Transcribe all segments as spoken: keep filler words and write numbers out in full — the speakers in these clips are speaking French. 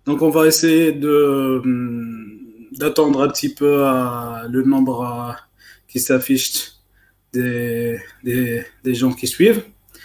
Donc, on va essayer de, d'attendre un petit peu euh, le nombre euh, qui s'affiche des, des, des gens qui suivent.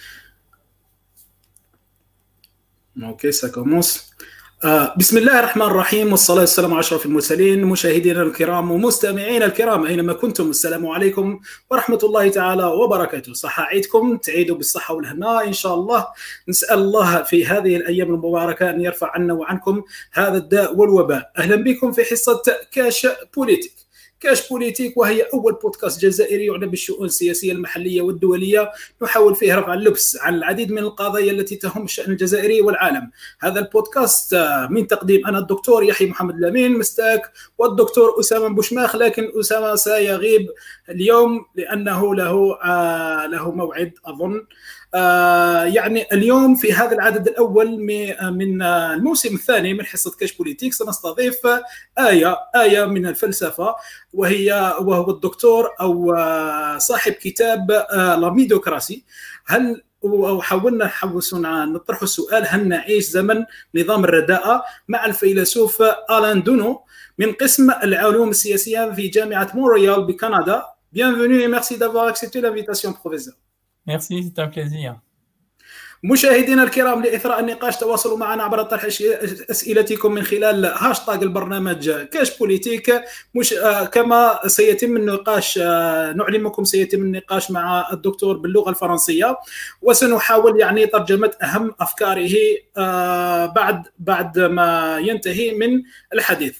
Ok, ça commence. آه بسم الله الرحمن الرحيم والصلاة والسلام على أشرف المرسلين مشاهدينا الكرام ومستمعينا الكرام أينما كنتم السلام عليكم ورحمة الله تعالى وبركاته. صحة عيدكم تعيدوا بالصحة والهناء إن شاء الله. نسأل الله في هذه الأيام المباركة أن يرفع عنا وعنكم هذا الداء والوباء. أهلا بكم في حصة كاش بوليتيك. كاش بوليتيك وهي أول بودكاست جزائري يعنى بالشؤون السياسية المحلية والدولية، نحاول فيه رفع اللبس عن العديد من القضايا التي تهم الشأن الجزائري والعالم. هذا البودكاست من تقديم أنا الدكتور يحيى محمد الأمين مستاك والدكتور أسامة بوشماخ، لكن أسامة سيغيب اليوم لأنه له آه له موعد أظن. آه يعني اليوم في هذا العدد الأول من الموسم الثاني من حصة كاش بوليتيك سنستضيف آية آية من الفلسفة، وهي وهو الدكتور أو صاحب كتاب لا ميديوكراسي. هل وحاولنا حوسنا نطرح السؤال: هل نعيش زمن نظام الرداءة؟ مع الفيلسوف آلان دونو من قسم العلوم السياسية في جامعة مونريال بكندا. Bienvenue et merci d'avoir accepté l'invitation, professeur. Merci, c'est un plaisir. مشاهدينا الكرام، لإثراء النقاش تواصلوا معنا عبر طرح أسئلتكم من خلال هاشتاغ البرنامج كاش بوليتيك. مش كما سيتم النقاش، نعلمكم سيتم النقاش مع الدكتور باللغة الفرنسية، وسنحاول يعني ترجمة أهم أفكاره بعد بعد ما ينتهي من الحديث.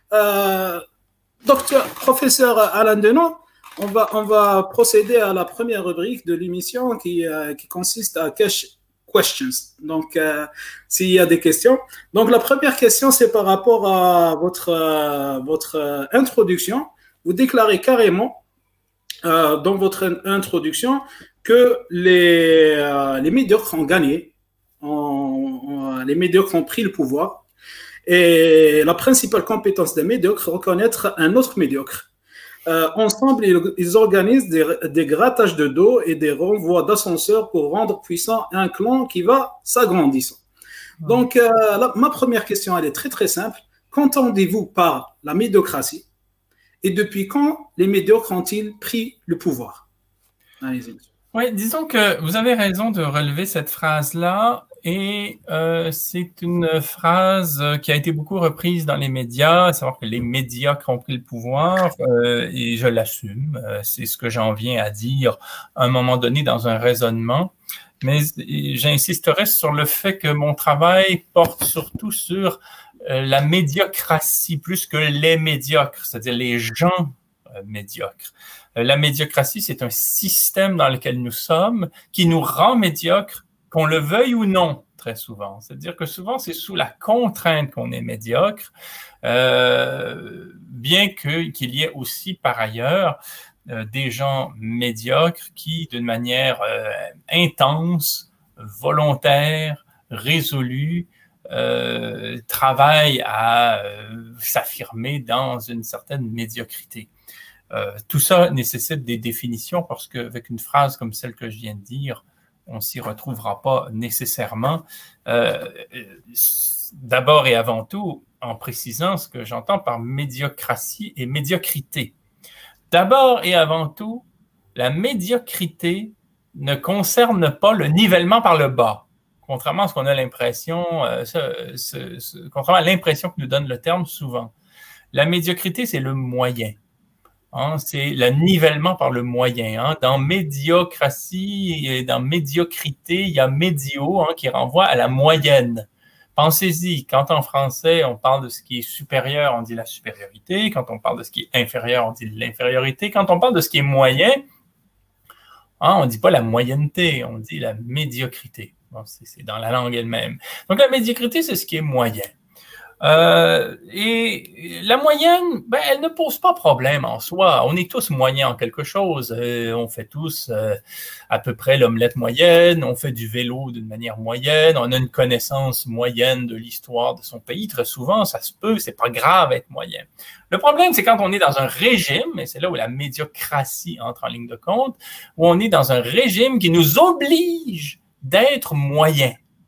دكتور بروفيسور آلان دونو، On va, on va procéder à la première rubrique de l'émission qui, euh, qui consiste à cash questions. Donc, euh, s'il y a des questions. Donc, la première question, c'est par rapport à votre, euh, votre euh, introduction. Vous déclarez carrément euh, dans votre introduction que les, euh, les médiocres ont gagné, ont, ont, les médiocres ont pris le pouvoir. Et la principale compétence des médiocres, reconnaître un autre médiocre. Euh, ensemble, ils, ils organisent des, des grattages de dos et des renvois d'ascenseurs pour rendre puissant un clan qui va s'agrandissant. Donc, euh, la, ma première question, elle est très très simple. Qu'entendez-vous par la médiocratie et depuis quand les médiocres ont-ils pris le pouvoir? Allez-y. Oui, disons que vous avez raison de relever cette phrase-là. Et euh, c'est une phrase qui a été beaucoup reprise dans les médias, à savoir que les médiocres ont pris le pouvoir, euh, et je l'assume, euh, c'est ce que j'en viens à dire à un moment donné dans un raisonnement. Mais j'insisterai sur le fait que mon travail porte surtout sur euh, la médiocratie plus que les médiocres, c'est-à-dire les gens euh, médiocres. Euh, la médiocratie, c'est un système dans lequel nous sommes qui nous rend médiocres, qu'on le veuille ou non, très souvent. C'est-à-dire que souvent, c'est sous la contrainte qu'on est médiocre, euh, bien que, qu'il y ait aussi, par ailleurs, euh, des gens médiocres qui, d'une manière euh, intense, volontaire, résolue, euh, travaillent à euh, s'affirmer dans une certaine médiocrité. Euh, tout ça nécessite des définitions parce qu'avec une phrase comme celle que je viens de dire, on s'y retrouvera pas nécessairement. Euh, d'abord et avant tout, en précisant ce que j'entends par médiocratie et médiocrité. D'abord et avant tout, la médiocrité ne concerne pas le nivellement par le bas, contrairement à ce qu'on a l'impression, euh, ce, ce, ce, contrairement à l'impression que nous donne le terme souvent. La médiocrité, c'est le moyen. Hein, c'est le nivellement par le moyen. Hein. Dans médiocratie et dans médiocrité, il y a médio, hein, qui renvoie à la moyenne. Pensez-y, quand en français, on parle de ce qui est supérieur, on dit la supériorité. Quand on parle de ce qui est inférieur, on dit l'infériorité. Quand on parle de ce qui est moyen, hein, on ne dit pas la moyenneté, on dit la médiocrité. Bon, c'est, c'est dans la langue elle-même. Donc la médiocrité, c'est ce qui est moyen. Euh, et la moyenne, ben, elle ne pose pas problème en soi. On est tous moyens en quelque chose. Euh, on fait tous euh, à peu près l'omelette moyenne. On fait du vélo d'une manière moyenne. On a une connaissance moyenne de l'histoire de son pays. Très souvent, ça se peut. C'est pas grave être moyen. Le problème, c'est quand on est dans un régime, et c'est là où la médiocratie entre en ligne de compte, où on est dans un régime qui nous oblige d'être moyen,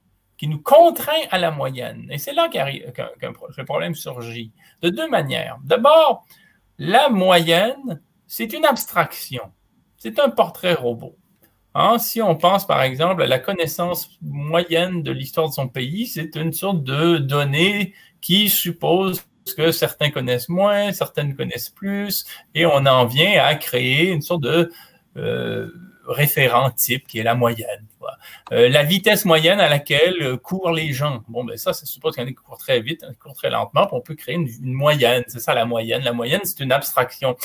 qui nous contraint à la moyenne. Et c'est là qu'un, qu'un le problème surgit, de deux manières. D'abord, la moyenne, c'est une abstraction, c'est un portrait robot. Hein, si on pense par exemple à la connaissance moyenne de l'histoire de son pays, c'est une sorte de donnée qui suppose que certains connaissent moins, certaines connaissent plus, et on en vient à créer une sorte de euh, référent type qui est la moyenne. Euh, la vitesse moyenne à laquelle courent les gens. Bon, ben ça, ça suppose qu'il y en a qui courent très vite, il y en a qui courent très lentement, puis on peut créer une, une moyenne. C'est ça la moyenne. La moyenne, c'est une abstraction.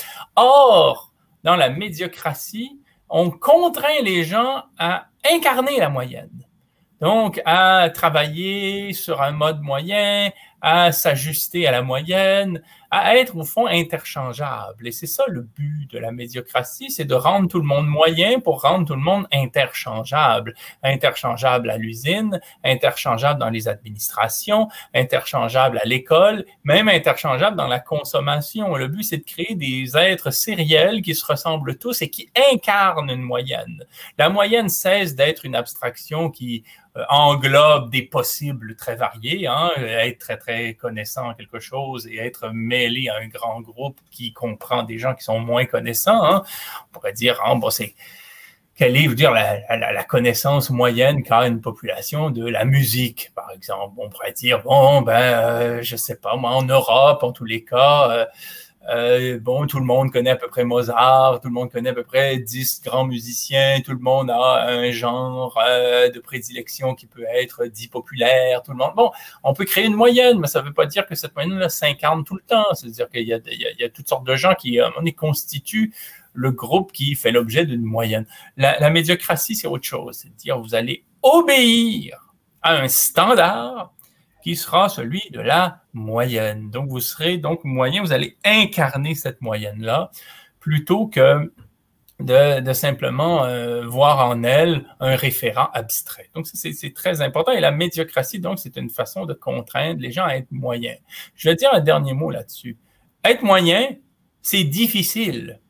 Or, dans la médiocratie, on contraint les gens à incarner la moyenne. Donc, à travailler sur un mode moyen, à s'ajuster à la moyenne, à être au fond interchangeable. Et c'est ça le but de la médiocratie, c'est de rendre tout le monde moyen pour rendre tout le monde interchangeable. Interchangeable à l'usine, interchangeable dans les administrations, interchangeable à l'école, même interchangeable dans la consommation. Le but, c'est de créer des êtres sériels qui se ressemblent tous et qui incarnent une moyenne. La moyenne cesse d'être une abstraction qui englobe des possibles très variés, hein, être très, très connaissant en quelque chose et être mêlé à un grand groupe qui comprend des gens qui sont moins connaissants. Hein. On pourrait dire, hein, bon, c'est quelle est, je veux dire, la, la, la connaissance moyenne qu'a une population de la musique, par exemple. On pourrait dire, bon, ben, euh, je sais pas, moi, en Europe, en tous les cas, euh, Euh, bon, tout le monde connaît à peu près Mozart, tout le monde connaît à peu près dix grands musiciens, tout le monde a un genre euh, de prédilection qui peut être dit populaire, tout le monde. Bon, on peut créer une moyenne, mais ça ne veut pas dire que cette moyenne-là s'incarne tout le temps. C'est-à-dire qu'il y a, il y a, il y a toutes sortes de gens qui, à un moment donné, constituent le groupe qui fait l'objet d'une moyenne. La, la médiocratie, c'est autre chose. C'est-à-dire vous allez obéir à un standard qui sera celui de la moyenne. Donc, vous serez donc moyen, vous allez incarner cette moyenne-là plutôt que de, de simplement euh, voir en elle un référent abstrait. Donc, c'est, c'est très important. Et la médiocratie, donc, c'est une façon de contraindre les gens à être moyens. Je vais dire un dernier mot là-dessus. Être moyen, c'est difficile.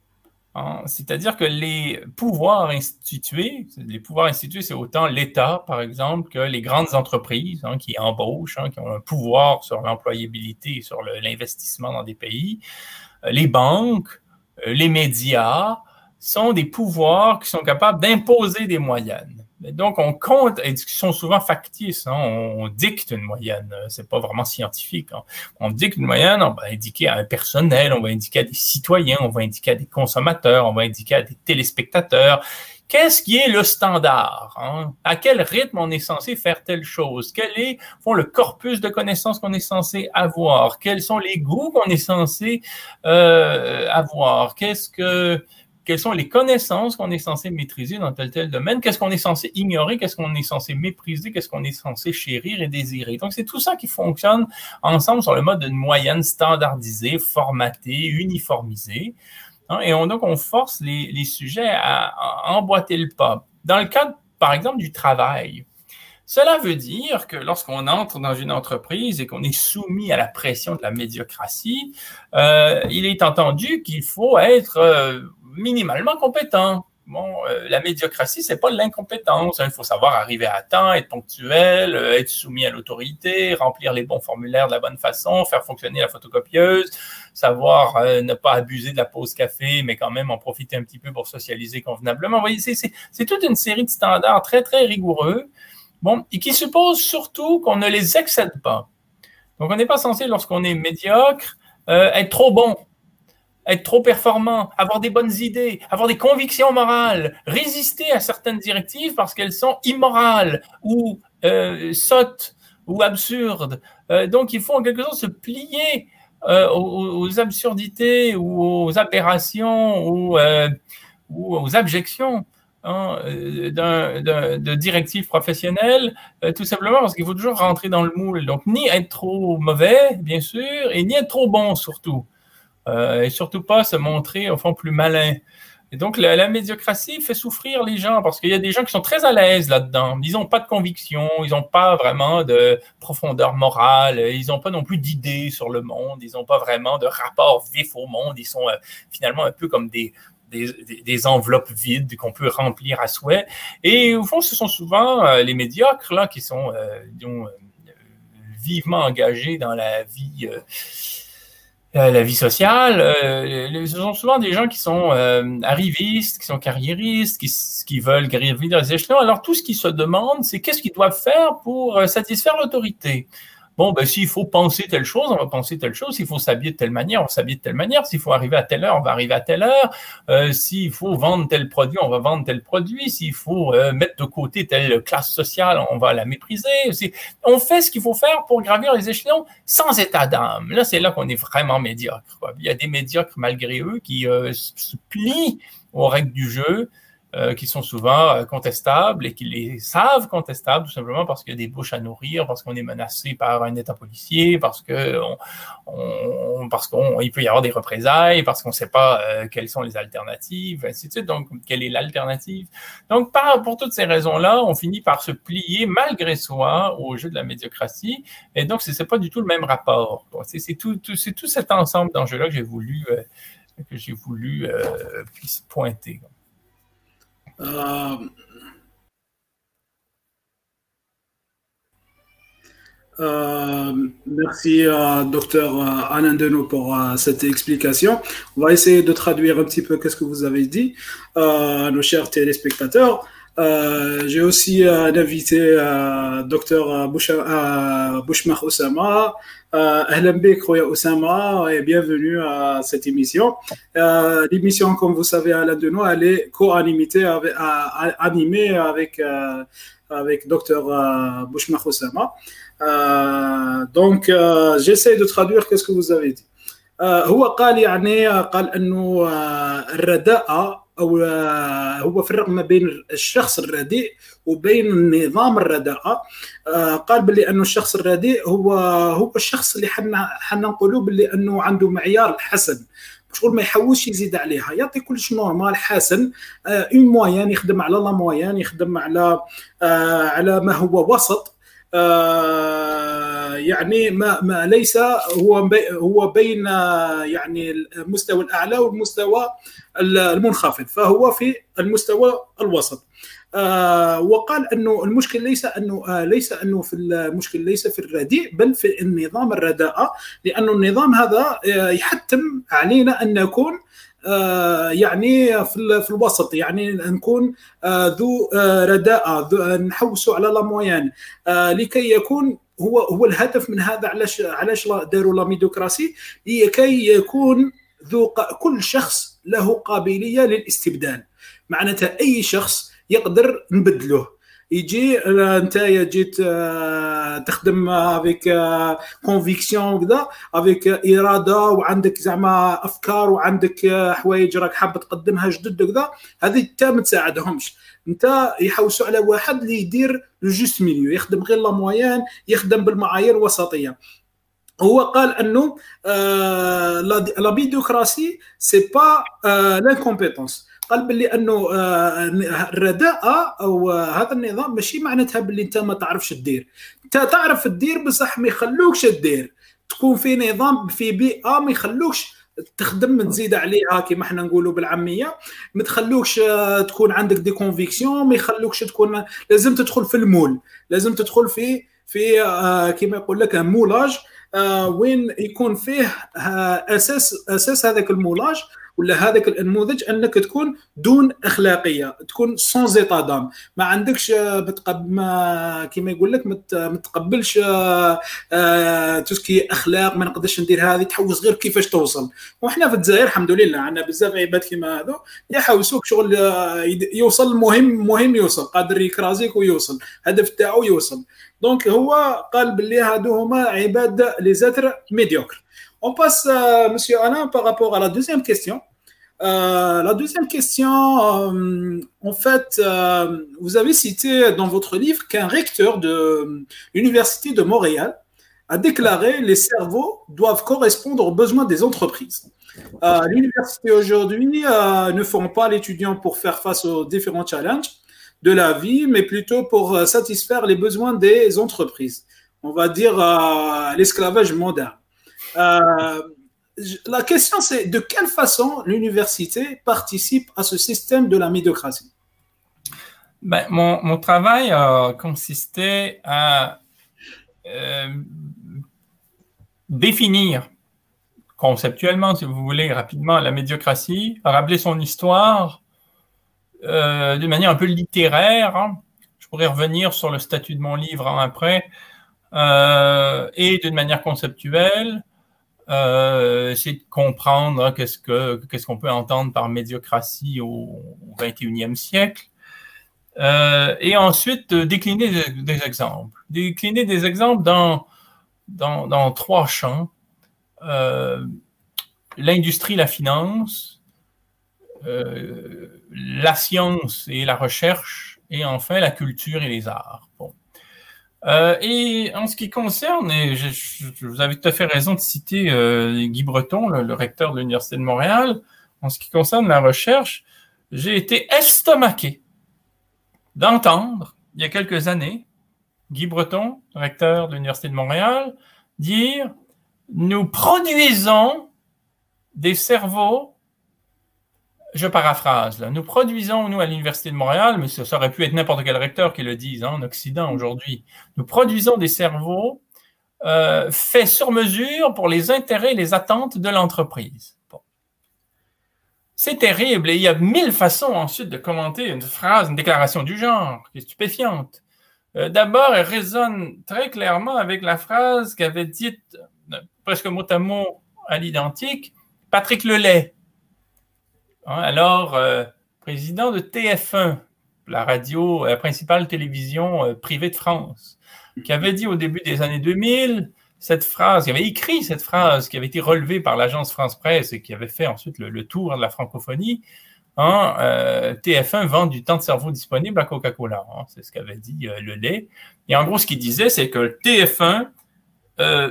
Hein? C'est-à-dire que les pouvoirs institués, les pouvoirs institués, c'est autant l'État, par exemple, que les grandes entreprises hein, qui embauchent, hein, qui ont un pouvoir sur l'employabilité et sur le, l'investissement dans des pays. Les banques, les médias sont des pouvoirs qui sont capables d'imposer des moyennes. Donc, on compte, et qui sont souvent factices, hein, on, on dicte une moyenne, c'est pas vraiment scientifique. Hein. On dicte une moyenne, on va indiquer à un personnel, on va indiquer à des citoyens, on va indiquer à des consommateurs, on va indiquer à des téléspectateurs. Qu'est-ce qui est le standard? Hein? À quel rythme on est censé faire telle chose? Quel est font, le corpus de connaissances qu'on est censé avoir? Quels sont les goûts qu'on est censé euh, avoir? Qu'est-ce que... Quelles sont les connaissances qu'on est censé maîtriser dans tel tel domaine? Qu'est-ce qu'on est censé ignorer? Qu'est-ce qu'on est censé mépriser? Qu'est-ce qu'on est censé chérir et désirer? Donc, c'est tout ça qui fonctionne ensemble sur le mode d'une moyenne standardisée, formatée, uniformisée. Hein, et on, donc, on force les, les sujets à, à emboîter le pas. Dans le cadre, par exemple, du travail, cela veut dire que lorsqu'on entre dans une entreprise et qu'on est soumis à la pression de la médiocratie, euh, il est entendu qu'il faut être euh, minimalement compétent. Bon, euh, la médiocratie, c'est pas l'incompétence. Hein. Il faut savoir arriver à temps, être ponctuel, euh, être soumis à l'autorité, remplir les bons formulaires de la bonne façon, faire fonctionner la photocopieuse, savoir euh, ne pas abuser de la pause café, mais quand même en profiter un petit peu pour socialiser convenablement. Vous voyez, c'est, c'est, c'est toute une série de standards très, très rigoureux. Bon, et qui suppose surtout qu'on ne les excède pas. Donc, on n'est pas censé, lorsqu'on est médiocre, euh, être trop bon, être trop performant, avoir des bonnes idées, avoir des convictions morales, résister à certaines directives parce qu'elles sont immorales ou euh, sottes ou absurdes. Euh, donc, il faut en quelque sorte se plier euh, aux, aux absurdités ou aux aberrations ou, euh, ou aux abjections. Hein, d'un, d'un, de directives professionnelles, euh, tout simplement parce qu'il faut toujours rentrer dans le moule. Donc, ni être trop mauvais, bien sûr, et ni être trop bon, surtout. Euh, et surtout pas se montrer, au fond, plus malin. Et donc, la, la médiocratie fait souffrir les gens parce qu'il y a des gens qui sont très à l'aise là-dedans. Ils n'ont pas de conviction, ils n'ont pas vraiment de profondeur morale, ils n'ont pas non plus d'idées sur le monde, ils n'ont pas vraiment de rapport vif au monde. Ils sont euh, finalement un peu comme des... des, des, des enveloppes vides qu'on peut remplir à souhait. Et au fond, ce sont souvent euh, les médiocres là, qui sont euh, disons, euh, vivement engagés dans la vie, euh, la vie sociale. Euh, ce sont souvent des gens qui sont euh, arrivistes, qui sont carriéristes, qui, qui veulent gravir dans les échelons. Alors, tout ce qu'ils se demandent, c'est qu'est-ce qu'ils doivent faire pour euh, satisfaire l'autorité. Bon, ben, s'il faut penser telle chose, on va penser telle chose. S'il faut s'habiller de telle manière, on va s'habiller de telle manière. S'il faut arriver à telle heure, on va arriver à telle heure. Euh, s'il faut vendre tel produit, on va vendre tel produit. S'il faut euh, mettre de côté telle classe sociale, on va la mépriser. C'est, on fait ce qu'il faut faire pour gravir les échelons sans état d'âme. Là, c'est là qu'on est vraiment médiocre, quoi. Il y a des médiocres, malgré eux, qui euh, se plient aux règles du jeu, Euh, qui sont souvent euh, contestables et qui les savent contestables tout simplement parce qu'il y a des bouches à nourrir, parce qu'on est menacé par un État policier, parce que on, on, parce qu'on il peut y avoir des représailles, parce qu'on ne sait pas euh, quelles sont les alternatives, ainsi de suite. Donc, quelle est l'alternative? Donc, par, pour toutes ces raisons-là, on finit par se plier malgré soi au jeu de la médiocratie. Et donc, c'est, c'est pas du tout le même rapport. Donc, c'est, c'est tout, tout, c'est tout cet ensemble d'enjeux-là que j'ai voulu euh, que j'ai voulu euh, pointer. Euh, euh, merci, euh, docteur Alain Deneau, pour euh, cette explication. On va essayer de traduire un petit peu qu'est-ce que vous avez dit, euh, nos chers téléspectateurs. Euh, j'ai aussi euh, un invité, euh, docteur Bouchmar Oussama. Ahlan bik, Khoya Oussama, et bienvenue à cette émission. Euh, l'émission, comme vous savez, Alain Deneau, elle est co-animée avec, animée avec, euh, avec docteur Bouchmar Oussama. Euh, donc, euh, j'essaie de traduire qu'est-ce que vous avez dit. هو قال يعني قال انه الرداءة او هو فرق ما بين الشخص الرديء وبين نظام الرداءة. قال باللي انه الشخص الرديء هو هو الشخص اللي حنا حنا نقولوا باللي انه عنده معيار الحسن، شغل ما يحوش يزيد عليها، يعطي كلش نورمال حسن، اون موين، يخدم على لا موين، يخدم على على ما هو وسط. آه يعني ما ما ليس هو بي هو بين يعني المستوى الاعلى والمستوى المنخفض، فهو في المستوى الوسط. آه وقال انه المشكل ليس انه آه ليس انه في المشكل ليس في الرديء بل في النظام الرداءة، لانه النظام هذا يحتم علينا ان نكون آه يعني في في الوسط، يعني نكون آه ذو آه رداءة، نحوسوا على لا موين آه لكي يكون هو هو الهدف من هذا. علاش علاش داروا لا ميدوكراسي؟ لكي يكون ذو كل شخص له قابلية للاستبدال، معناتها اي شخص يقدر نبدله. يجي انت جيت تخدم افيك كونفيكسيون وكذا، افيك اراده وعندك زعما افكار وعندك حوايج راك حاب تقدمها جدد وكذا، هذه انت ما تساعدهمش. انت يحوسوا على واحد اللي يدير لو جوست ميليو، يخدم غير لا موين، يخدم بالمعايير الوسطيه. هو قال انه لا ميدوكراسي سي با لانكومبيتونس. قال باللي انه الرداءة او هذا النظام ماشي معناتها باللي انت ما تعرفش تدير، انت تعرف تدير بصح ما يخلوكش تدير، تكون في نظام في بيئة ما يخلوكش تخدم تزيد عليها كما احنا نقولوا بالعاميه، ما تخلوكش تكون عندك دي كونفيكسيون، ما يخلوكش تكون لازم تدخل في المول، لازم تدخل في في كما يقول لك مولاج وين يكون فيه اساس اساس هذاك المولاج ولا هذاك النموذج انك تكون دون اخلاقيه، تكون سون زيتا دام، ما عندكش بتقبل ما كيما يقول لك ما تقبلش تسكي اخلاق، ما نقدرش ندير هذه، تحوس غير كيفاش توصل. وحنا في الجزائر الحمد لله عندنا بزاف عباد كيما هذو يحوسوك شغل يوصل، المهم مهم يوصل، قادر يكرازيك ويوصل، هدف تاعو يوصل. دونك هو قال باللي هادو هما عباد لي زاتر ميديوكر. On passe, euh, Monsieur Alain, par rapport à la deuxième question. Euh, la deuxième question, euh, en fait, euh, vous avez cité dans votre livre qu'un recteur de l'Université de Montréal a déclaré « Les cerveaux doivent correspondre aux besoins des entreprises ». Euh, l'université aujourd'hui euh, ne forme pas l'étudiant pour faire face aux différents challenges de la vie, mais plutôt pour euh, satisfaire les besoins des entreprises. On va dire euh, l'esclavage moderne. Euh, la question, c'est de quelle façon l'université participe à ce système de la médiocratie? Ben, mon, mon travail a consisté à euh, définir conceptuellement, si vous voulez, rapidement, la médiocratie, rappeler son histoire euh, de manière un peu littéraire. Hein. Je pourrais revenir sur le statut de mon livre hein, après, euh, et d'une manière conceptuelle, euh, essayer de comprendre hein, qu'est-ce que qu'est-ce qu'on peut entendre par médiocratie au, au vingt et unième siècle. Euh, et ensuite, euh, décliner des, des exemples. Décliner des exemples dans, dans, dans trois champs. Euh, l'industrie, la finance, euh, la science et la recherche, et enfin la culture et les arts. Bon. Euh, et en ce qui concerne, et je, je, vous avez tout à fait raison de citer euh, Guy Breton, le, le recteur de l'Université de Montréal, en ce qui concerne la recherche, j'ai été estomaqué d'entendre, il y a quelques années, Guy Breton, recteur de l'Université de Montréal, dire « Nous produisons des cerveaux », je paraphrase, là, « Nous produisons, nous, à l'Université de Montréal, mais ça, ça aurait pu être n'importe quel recteur qui le dise hein, en Occident aujourd'hui, nous produisons des cerveaux euh, faits sur mesure pour les intérêts et les attentes de l'entreprise. » Bon. C'est terrible et il y a mille façons ensuite de commenter une phrase, une déclaration du genre qui est stupéfiante. Euh, D'abord, elle résonne très clairement avec la phrase qu'avait dite euh, presque mot à mot à l'identique Patrick Lelay. Hein, alors, euh, président de T F un, la radio, la principale télévision euh, privée de France, qui avait dit au début des années deux mille cette phrase, qui avait écrit cette phrase qui avait été relevée par l'agence France Presse et qui avait fait ensuite le, le tour de la francophonie, hein, euh, T F un vend du temps de cerveau disponible à Coca-Cola. Hein, c'est ce qu'avait dit euh, Lelay. Et en gros, ce qu'il disait, c'est que T F un euh,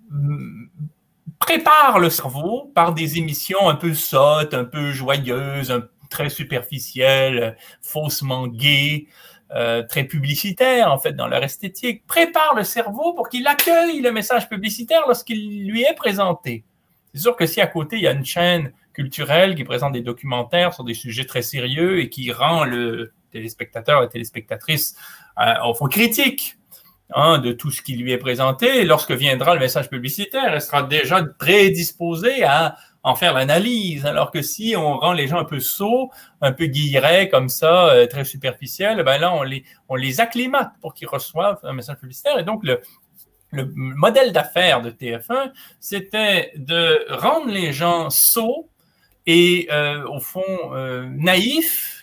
prépare le cerveau par des émissions un peu sottes, un peu joyeuses, un, très superficielles, faussement gaies, Euh, très publicitaire en fait dans leur esthétique, prépare le cerveau pour qu'il accueille le message publicitaire lorsqu'il lui est présenté. C'est sûr que si à côté il y a une chaîne culturelle qui présente des documentaires sur des sujets très sérieux et qui rend le téléspectateur, la téléspectatrice euh, au fond critique hein, de tout ce qui lui est présenté, et lorsque viendra le message publicitaire, elle sera déjà prédisposée à en faire l'analyse, alors que si on rend les gens un peu sots, un peu guillerets comme ça, euh, très superficiels, ben là, on les, on les acclimate pour qu'ils reçoivent un message publicitaire. Et donc, le, le modèle d'affaires de T F un, c'était de rendre les gens sots et, euh, au fond, euh, naïfs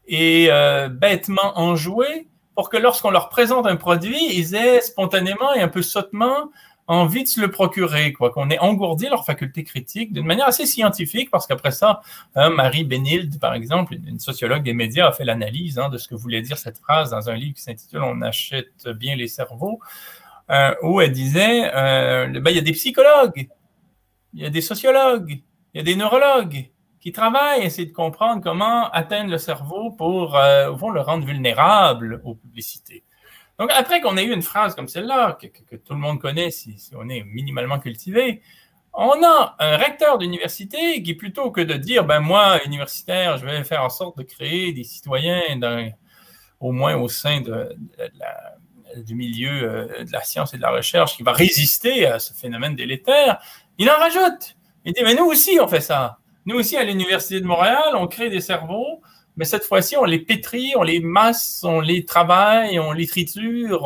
et euh, bêtement enjoués pour que lorsqu'on leur présente un produit, ils aient spontanément et un peu sottement envie de se le procurer, quoi, qu'on ait engourdi leur faculté critique d'une manière assez scientifique, parce qu'après ça, hein, Marie Bénilde, par exemple, une sociologue des médias, a fait l'analyse hein, de ce que voulait dire cette phrase dans un livre qui s'intitule « On achète bien les cerveaux euh, », où elle disait euh, ben, il y a des psychologues, il y a des sociologues, il y a des neurologues qui travaillent à essayer de comprendre comment atteindre le cerveau pour, euh, au fond, le rendre vulnérable aux publicités. Donc, après qu'on ait eu une phrase comme celle-là, que, que, que tout le monde connaît si, si on est minimalement cultivé, on a un recteur d'université qui, plutôt que de dire, ben moi, universitaire, je vais faire en sorte de créer des citoyens, dans, au moins au sein de, de, de la, du milieu euh, de la science et de la recherche, qui va résister à ce phénomène délétère, il en rajoute. Il dit, mais nous aussi, on fait ça. Nous aussi, à l'Université de Montréal, on crée des cerveaux, mais cette fois-ci, on les pétrit, on les masse, on les travaille, on les triture,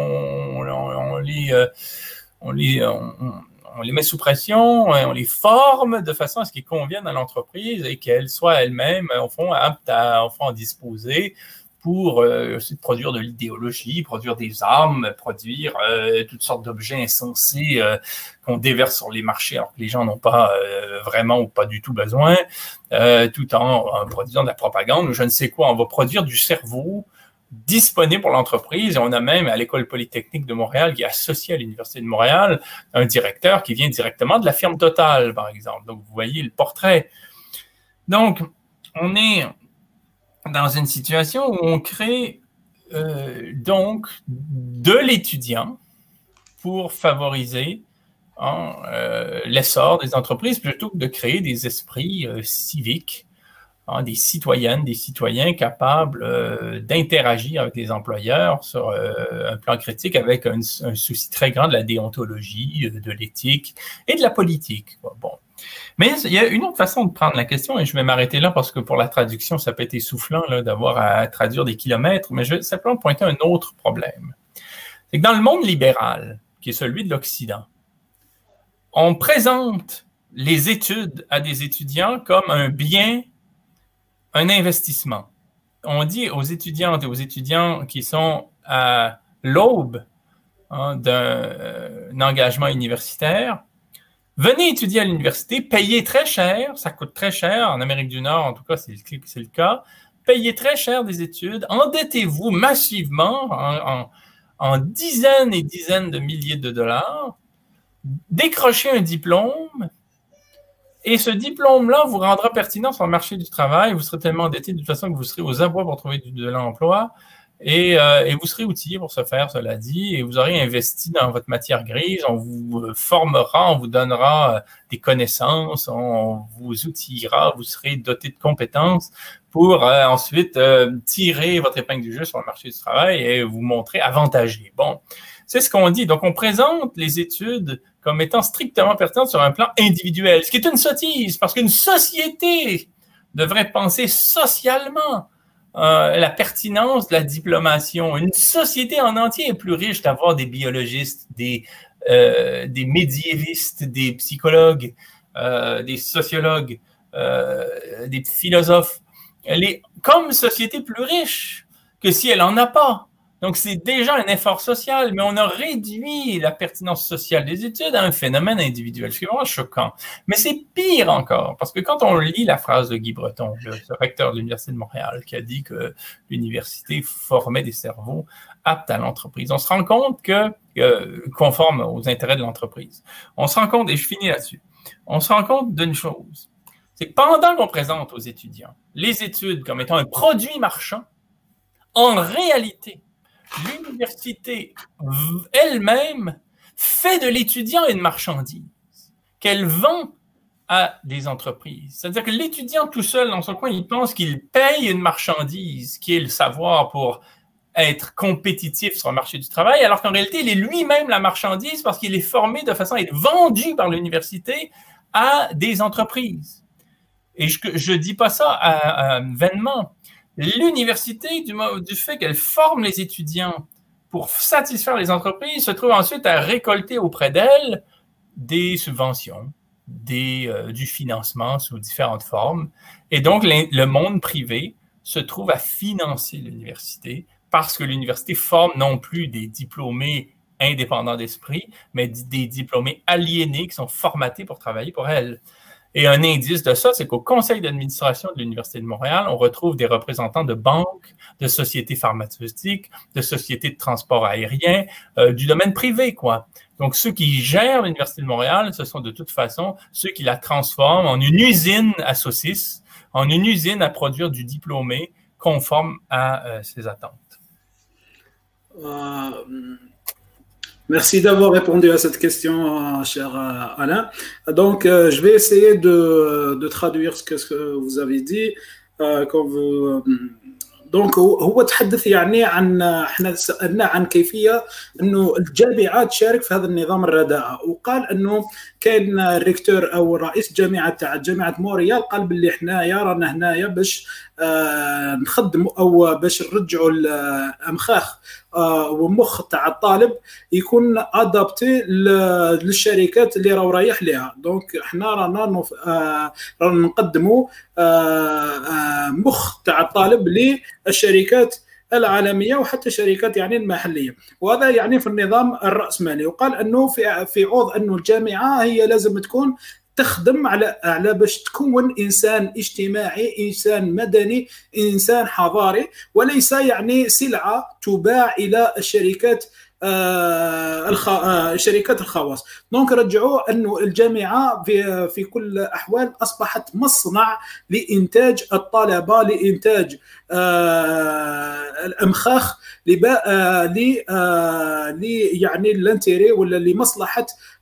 on, on, on les, euh, on, les on, on les met sous pression, on les forme de façon à ce qu'ils conviennent à l'entreprise et qu'elle soit elle-même, au fond, apte à, au fond, à disposer pour euh, produire de l'idéologie, produire des armes, produire euh, toutes sortes d'objets insensés euh, qu'on déverse sur les marchés alors que les gens n'ont pas euh, vraiment ou pas du tout besoin, euh, tout en, en produisant de la propagande ou je ne sais quoi. On va produire du cerveau disponible pour l'entreprise et on a même à l'École polytechnique de Montréal qui est associée à l'Université de Montréal un directeur qui vient directement de la firme Total, par exemple. Donc, vous voyez le portrait. Donc, on est dans une situation où on crée euh, donc de l'étudiant pour favoriser hein, euh, l'essor des entreprises plutôt que de créer des esprits euh, civiques, hein, des citoyennes, des citoyens capables euh, d'interagir avec les employeurs sur euh, un plan critique avec un, un souci très grand de la déontologie, de l'éthique et de la politique. Bon. Mais il y a une autre façon de prendre la question, et je vais m'arrêter là parce que pour la traduction, ça peut être essoufflant là, d'avoir à traduire des kilomètres, mais je vais simplement pointer un autre problème. C'est que dans le monde libéral, qui est celui de l'Occident, on présente les études à des étudiants comme un bien, un investissement. On dit aux étudiantes et aux étudiants qui sont à l'aube hein, d'un euh, engagement universitaire, venez étudier à l'université, payez très cher, ça coûte très cher, en Amérique du Nord, en tout cas, c'est le, c'est le cas, payez très cher des études, endettez-vous massivement en, en, en dizaines et dizaines de milliers de dollars, décrochez un diplôme, et ce diplôme-là vous rendra pertinent sur le marché du travail, vous serez tellement endetté de toute façon que vous serez aux abois pour trouver de l'emploi, Et, euh, et vous serez outillé pour ce faire, cela dit, et vous aurez investi dans votre matière grise, on vous formera, on vous donnera des connaissances, on vous outillera, vous serez doté de compétences pour euh, ensuite euh, tirer votre épingle du jeu sur le marché du travail et vous montrer avantagé. Bon, c'est ce qu'on dit. Donc, on présente les études comme étant strictement pertinentes sur un plan individuel, ce qui est une sottise, parce qu'une société devrait penser socialement Euh, la pertinence de la diplomation. Une société en entier est plus riche d'avoir des biologistes, des, euh, des médiévistes, des psychologues, euh, des sociologues, euh, des philosophes. Elle est comme société plus riche que si elle n'en a pas. Donc, c'est déjà un effort social, mais on a réduit la pertinence sociale des études à un phénomène individuel, ce qui est vraiment choquant. Mais c'est pire encore, parce que quand on lit la phrase de Guy Breton, le recteur de l'Université de Montréal, qui a dit que l'université formait des cerveaux aptes à l'entreprise, on se rend compte que, euh, conforme aux intérêts de l'entreprise, on se rend compte, et je finis là-dessus, on se rend compte d'une chose, c'est que pendant qu'on présente aux étudiants les études comme étant un produit marchand, en réalité, l'université elle-même fait de l'étudiant une marchandise qu'elle vend à des entreprises. C'est-à-dire que l'étudiant tout seul dans son coin, il pense qu'il paye une marchandise qui est le savoir pour être compétitif sur le marché du travail, alors qu'en réalité, il est lui-même la marchandise parce qu'il est formé de façon à être vendu par l'université à des entreprises. Et je ne dis pas ça à, à, vainement. L'université, du, du fait qu'elle forme les étudiants pour satisfaire les entreprises, se trouve ensuite à récolter auprès d'elles des subventions, des, euh, du financement sous différentes formes. Et donc, le monde privé se trouve à financer l'université parce que l'université forme non plus des diplômés indépendants d'esprit, mais des diplômés aliénés qui sont formatés pour travailler pour elle. Et un indice de ça, c'est qu'au conseil d'administration de l'Université de Montréal, on retrouve des représentants de banques, de sociétés pharmaceutiques, de sociétés de transport aérien, euh, du domaine privé, quoi. Donc, ceux qui gèrent l'Université de Montréal, ce sont de toute façon ceux qui la transforment en une usine à saucisses, en une usine à produire du diplômé conforme à euh, ses attentes. Euh... Merci d'avoir répondu à cette question, cher Alain. Donc, euh, je vais essayer de, de traduire ce que, ce que vous avez dit. Euh, quand vous, donc هو تحدث يعني عن احنا سالنا عن كيفيه انه الجامعات تشارك في هذا النظام الرداءه، وقال انه كان الريكتور او رئيس جامعه تاع جامعه مونريال قال باللي حنايا رانا هنايا باش آه نخدموا او باش نرجعوا الامخاخ آه ومخ تاع الطالب يكون ادابتي للشركات اللي راهو رايح لها. دونك حنا رانا آه رانا نقدموا آه آه مخ تاع الطالب للشركات العالميه وحتى الشركات يعني المحليه، وهذا يعني في النظام الراسمالي. وقال انه في في عوض انه الجامعه هي لازم تكون تخدم على على باش تكون انسان اجتماعي، انسان مدني، انسان حضاري، وليس يعني سلعه تباع الى الشركات آه الخ... آه شركات الخواص. دونك رجعوا انه الجامعه في في كل الاحوال اصبحت مصنع لانتاج الطلبه، لانتاج آه الامخاخ لبا... آه ل آه ل يعني الانتيري ولا لمصلحه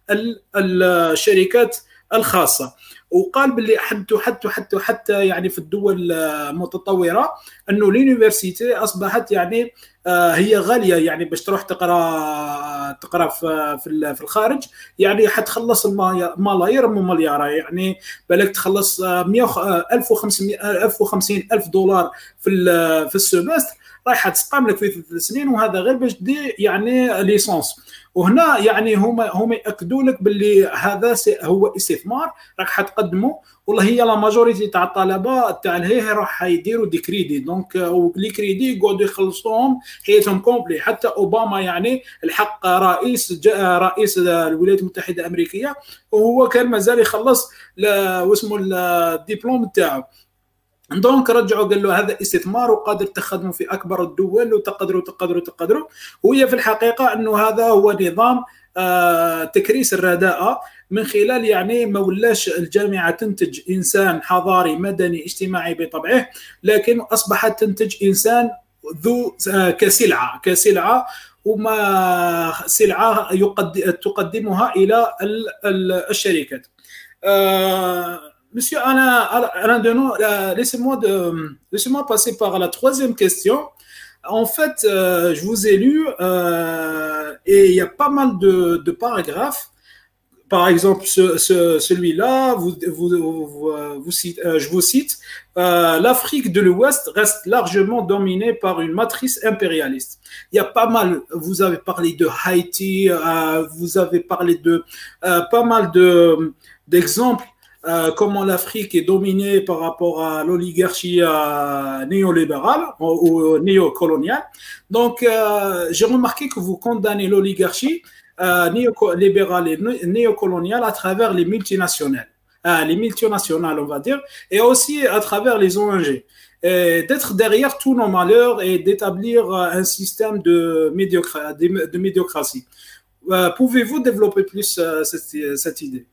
الشركات الخاصه. وقال باللي حتى حتى حتى حتى يعني في الدول المتطوره انه اليونيفرسيتي اصبحت يعني هي غاليه، يعني باش تروح تقرا تقرا في في الخارج يعني حتخلص ملايير مليار، يعني بالك تخلص ألف وخمسمائة ألف وخمسين ألف دولار في في السيمستر، رايحه تسقام لك في ثلاث سنين، وهذا غير باش دي يعني ليسونس. وهنا يعني هما هما ياكدوا لك باللي هذا هو استثمار راك حتقدمه، والله هي لا ماجوريتي تاع الطلبه تاع الهيه راح يديروا دي كريدي، دونك لي كريدي يقعدوا يخلصوهم حياتهم كومبلي. حتى اوباما يعني الحق رئيس رئيس الولايات المتحده الامريكيه وهو كان مازال يخلص واسمه الدبلوم تاعو. دونك رجعوا قال له هذا استثمار وقادر تخدموا في اكبر الدول وتقدروا تقدروا تقدروا. وهي في الحقيقه انه هذا هو نظام آه تكريس الرداءه، من خلال يعني ما ولاش الجامعه تنتج انسان حضاري مدني اجتماعي بطبعه، لكن اصبحت تنتج انسان ذو آه كسلعه كسلعه وما سلعه يقدم تقدمها الى الشركات. آه Monsieur Alain, Alain Deneau, euh, laissez-moi, de, laissez-moi passer par la troisième question. En fait, euh, je vous ai lu euh, et il y a pas mal de, de paragraphes. Par exemple, ce, ce, celui-là, vous, vous, vous, vous cite, euh, je vous cite, euh, l'Afrique de l'Ouest reste largement dominée par une matrice impérialiste. Il y a pas mal, vous avez parlé de Haïti, euh, vous avez parlé de euh, pas mal de, d'exemples. Euh, comment l'Afrique est dominée par rapport à l'oligarchie euh, néolibérale ou, ou néocoloniale. Donc, euh, j'ai remarqué que vous condamnez l'oligarchie euh, néolibérale et néocoloniale à travers les multinationales, euh, les multinationales, on va dire, et aussi à travers les O N G. Et d'être derrière tous nos malheurs et d'établir un système de, médiocra- de, de médiocratie. Euh, pouvez-vous développer plus euh, cette, cette idée?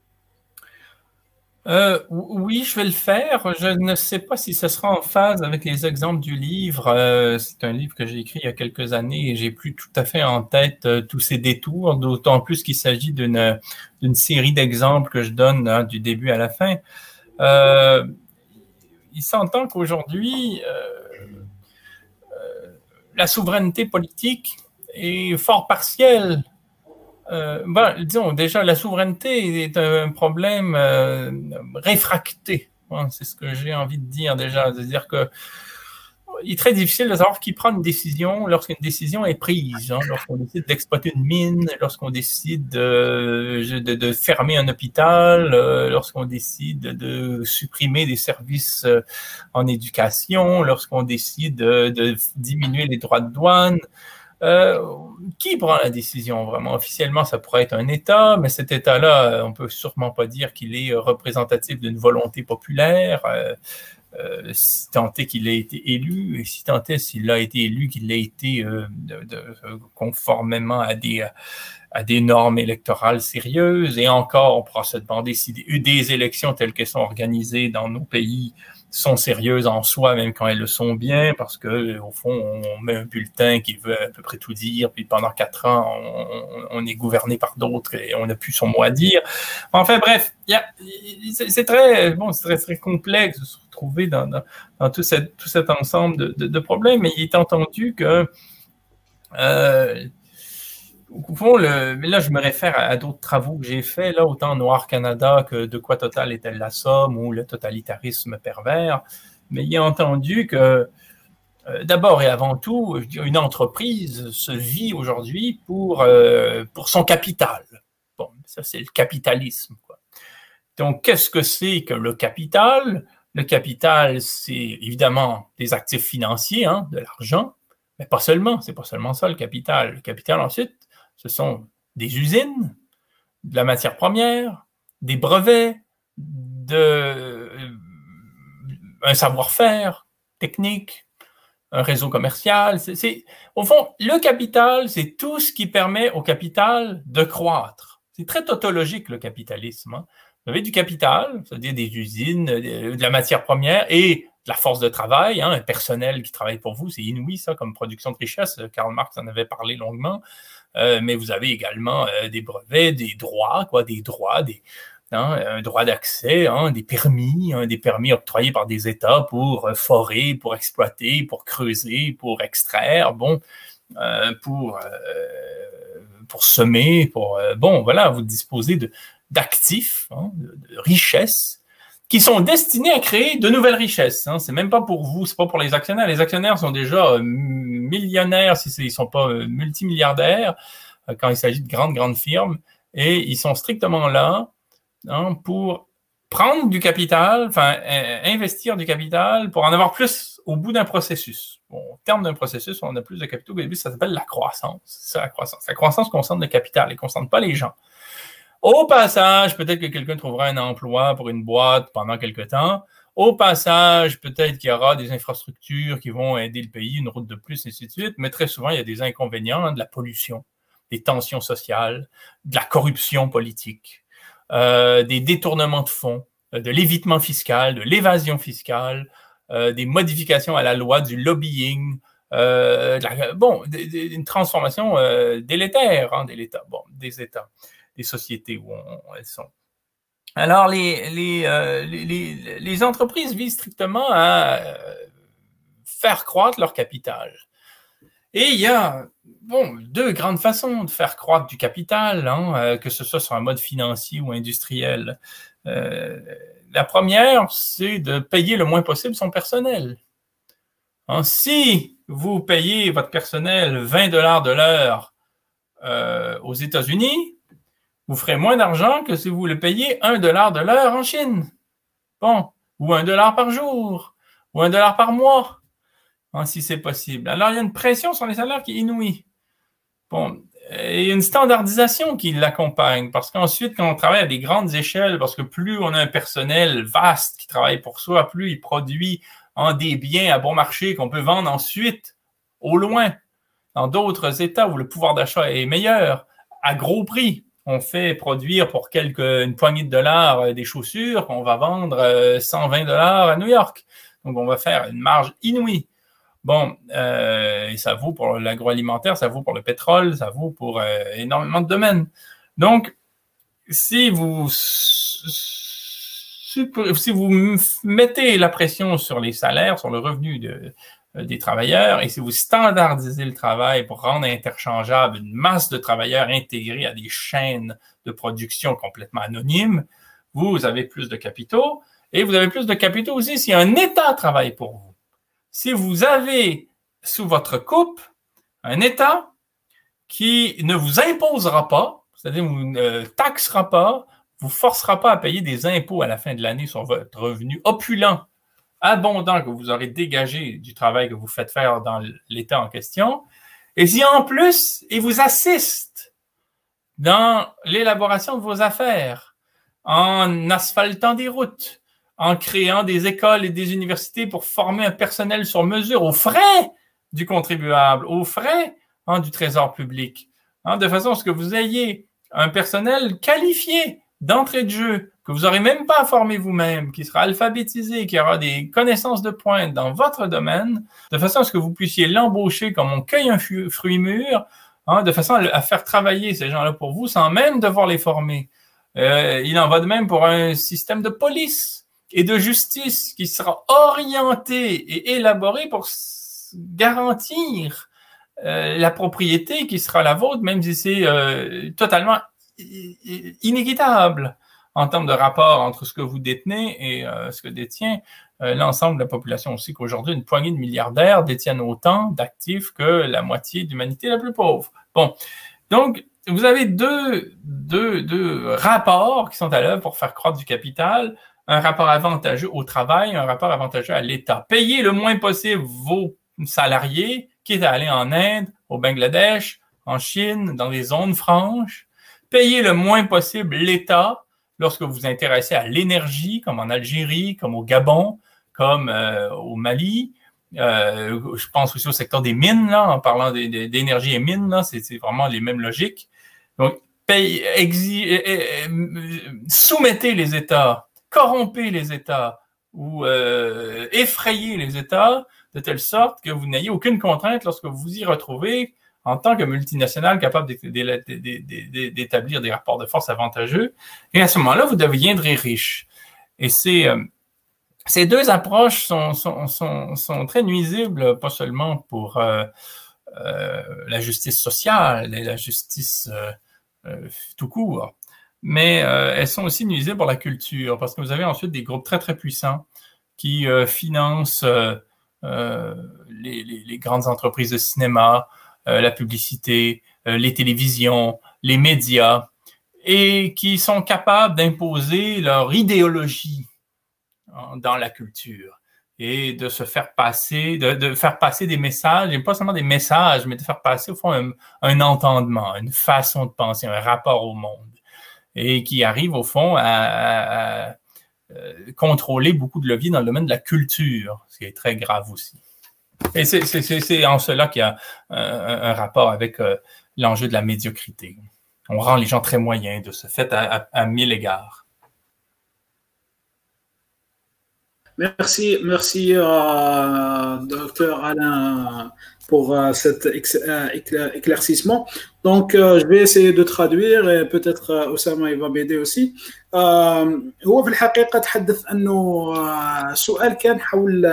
Euh, oui, je vais le faire. Je ne sais pas si ce sera en phase avec les exemples du livre. Euh, c'est un livre que j'ai écrit il y a quelques années et j'ai plus tout à fait en tête euh, tous ces détours, d'autant plus qu'il s'agit d'une d'une série d'exemples que je donne hein, du début à la fin. Euh, il s'entend qu'aujourd'hui, euh, euh, la souveraineté politique est fort partielle. Euh, ben, disons, déjà, la souveraineté est un problème euh, réfracté. Hein, c'est ce que j'ai envie de dire déjà. C'est-à-dire que il est très difficile de savoir qui prend une décision lorsqu'une décision est prise. Hein, lorsqu'on décide d'exploiter une mine, lorsqu'on décide de, de, de fermer un hôpital, euh, lorsqu'on décide de supprimer des services euh, en éducation, lorsqu'on décide de, de diminuer les droits de douane. Euh, qui prend la décision vraiment? Officiellement, ça pourrait être un État, mais cet État-là, on ne peut sûrement pas dire qu'il est représentatif d'une volonté populaire, euh, euh, si tant est qu'il ait été élu, et si tant est s'il a été élu, qu'il ait été euh, de, de, conformément à des, à des normes électorales sérieuses. Et encore, on pourra se demander si des, des élections telles qu'elles sont organisées dans nos pays sont sérieuses en soi, même quand elles le sont bien, parce que au fond, on met un bulletin qui veut à peu près tout dire, puis pendant quatre ans, on, on est gouverné par d'autres et on n'a plus son mot à dire. Enfin bref, y a, c'est très bon, c'est très, très complexe de se retrouver dans, dans, dans tout, cette, tout cet ensemble de, de, de problèmes, mais il est entendu que euh, au fond, le, mais là, je me réfère à, à d'autres travaux que j'ai faits, là, autant Noir Canada que De quoi Total est-elle la somme ou le totalitarisme pervers. Mais il est entendu que, euh, d'abord et avant tout, je dirais, une entreprise se vit aujourd'hui pour, euh, pour son capital. Bon, ça, c'est le capitalisme, quoi. Donc, qu'est-ce que c'est que le capital? Le capital, c'est évidemment des actifs financiers, hein, de l'argent, mais pas seulement, c'est pas seulement ça, le capital. Le capital, ensuite, ce sont des usines, de la matière première, des brevets, de, un savoir-faire technique, un réseau commercial. C'est, c'est, au fond, le capital, c'est tout ce qui permet au capital de croître. C'est très tautologique, le capitalisme. Hein. Vous avez du capital, c'est-à-dire des usines, de la matière première et de la force de travail, hein, un personnel qui travaille pour vous. C'est inouï, ça, comme production de richesse. Karl Marx en avait parlé longuement. Euh, mais vous avez également euh, des brevets, des droits, quoi, des droits, des... Hein, un droit d'accès, hein, des permis, hein, des permis octroyés par des États pour euh, forer, pour exploiter, pour creuser, pour extraire, bon, euh, pour, euh, pour semer, pour... Euh, bon, voilà, vous disposez de, d'actifs, hein, de, de richesses qui sont destinés à créer de nouvelles richesses. Hein. C'est même pas pour vous, c'est pas pour les actionnaires. Les actionnaires sont déjà euh, millionnaires, si ils sont pas euh, multimilliardaires, euh, quand il s'agit de grandes, grandes firmes, et ils sont strictement là hein, pour prendre du capital, enfin, euh, investir du capital pour en avoir plus au bout d'un processus. Bon, au terme d'un processus, on a plus de capitaux. Au début, ça s'appelle la croissance. C'est ça, la croissance. La croissance concerne le capital, elle ne concerne pas les gens. Au passage, peut-être que quelqu'un trouvera un emploi pour une boîte pendant quelque temps. Au passage, peut-être qu'il y aura des infrastructures qui vont aider le pays, une route de plus, et ainsi de suite. Mais très souvent, il y a des inconvénients, hein, de la pollution, des tensions sociales, de la corruption politique, euh, des détournements de fonds, euh, de l'évitement fiscal, de l'évasion fiscale, euh, des modifications à la loi, du lobbying, euh, de la, bon, d- d- une transformation euh, délétère hein, des États, bon, des États. Des sociétés où on, elles sont. Alors, les, les, euh, les, les, les entreprises visent strictement à euh, faire croître leur capital. Et il y a bon, deux grandes façons de faire croître du capital, hein, euh, que ce soit sur un mode financier ou industriel. Euh, la première, c'est de payer le moins possible son personnel. Hein, si vous payez votre personnel vingt dollars de l'heure euh, aux États-Unis, vous ferez moins d'argent que si vous le payez un dollar de l'heure en Chine. Bon, ou un dollar par jour, ou un dollar par mois, hein, si c'est possible. Alors, il y a une pression sur les salaires qui est inouïe. Bon, il y a une standardisation qui l'accompagne, parce qu'ensuite, quand on travaille à des grandes échelles, parce que plus on a un personnel vaste qui travaille pour soi, plus il produit hein, des biens à bon marché qu'on peut vendre ensuite, au loin, dans d'autres États où le pouvoir d'achat est meilleur, à gros prix. On fait produire pour quelques, une poignée de dollars euh, des chaussures qu'on va vendre euh, cent vingt dollars à New York. Donc, on va faire une marge inouïe. Bon, euh, et ça vaut pour l'agroalimentaire, ça vaut pour le pétrole, ça vaut pour euh, énormément de domaines. Donc, si vous, si vous mettez la pression sur les salaires, sur le revenu de, des travailleurs, et si vous standardisez le travail pour rendre interchangeable une masse de travailleurs intégrés à des chaînes de production complètement anonymes, vous avez plus de capitaux, et vous avez plus de capitaux aussi si un État travaille pour vous. Si vous avez sous votre coupe un État qui ne vous imposera pas, c'est-à-dire vous ne taxera pas, vous forcera pas à payer des impôts à la fin de l'année sur votre revenu opulent, abondant que vous aurez dégagé du travail que vous faites faire dans l'État en question, et si en plus, il vous assiste dans l'élaboration de vos affaires, en asphaltant des routes, en créant des écoles et des universités pour former un personnel sur mesure aux frais du contribuable, aux frais hein, du trésor public, hein, de façon à ce que vous ayez un personnel qualifié d'entrée de jeu, que vous n'aurez même pas à former vous-même, qui sera alphabétisé, qui aura des connaissances de pointe dans votre domaine, de façon à ce que vous puissiez l'embaucher comme on cueille un fruit mûr, hein, de façon à faire travailler ces gens-là pour vous sans même devoir les former. Euh, il en va de même pour un système de police et de justice qui sera orienté et élaboré pour garantir euh, la propriété qui sera la vôtre, même si c'est euh, totalement inéquitable en termes de rapport entre ce que vous détenez et euh, ce que détient euh, l'ensemble de la population. Aussi qu'aujourd'hui, une poignée de milliardaires détiennent autant d'actifs que la moitié de l'humanité la plus pauvre. Bon, donc, vous avez deux, deux, deux rapports qui sont à l'œuvre pour faire croître du capital. Un rapport avantageux au travail, un rapport avantageux à l'État. Payez le moins possible vos salariés, quitte à aller en Inde, au Bangladesh, en Chine, dans des zones franches. Payez le moins possible l'État, lorsque vous vous intéressez à l'énergie, comme en Algérie, comme au Gabon, comme euh, au Mali. Euh, je pense aussi au secteur des mines, là, en parlant d'énergie et mines, là, c'est, c'est vraiment les mêmes logiques. Donc, paye, exi, eh, eh, soumettez les États, corrompez les États ou euh, effrayez les États de telle sorte que vous n'ayez aucune contrainte lorsque vous vous y retrouvez en tant que multinationale capable d'établir des rapports de force avantageux. Et à ce moment-là, vous deviendrez riche. Et c'est... Euh, Ces deux approches sont, sont, sont, sont très nuisibles, pas seulement pour euh, euh, la justice sociale et la justice euh, euh, tout court, mais euh, elles sont aussi nuisibles pour la culture, parce que vous avez ensuite des groupes très, très puissants qui euh, financent euh, euh, les, les, les grandes entreprises de cinéma, euh, la publicité, euh, les télévisions, les médias, et qui sont capables d'imposer leur idéologie dans la culture et de se faire passer, de, de faire passer des messages, et pas seulement des messages, mais de faire passer au fond un, un entendement, une façon de penser, un rapport au monde, et qui arrive au fond à, à, à contrôler beaucoup de leviers dans le domaine de la culture, ce qui est très grave aussi. Et c'est, c'est, c'est en cela qu'il y a un, un rapport avec euh, l'enjeu de la médiocrité. On rend les gens très moyens de ce fait à, à, à mille égards. Merci, merci euh, docteur Alain pour euh, cet ex, euh, éclaircissement. Donc euh, je vais essayer de traduire et peut-être euh, Osama il va m'aider aussi. euh, هو في الحقيقة تحدث أنه السؤال كان حول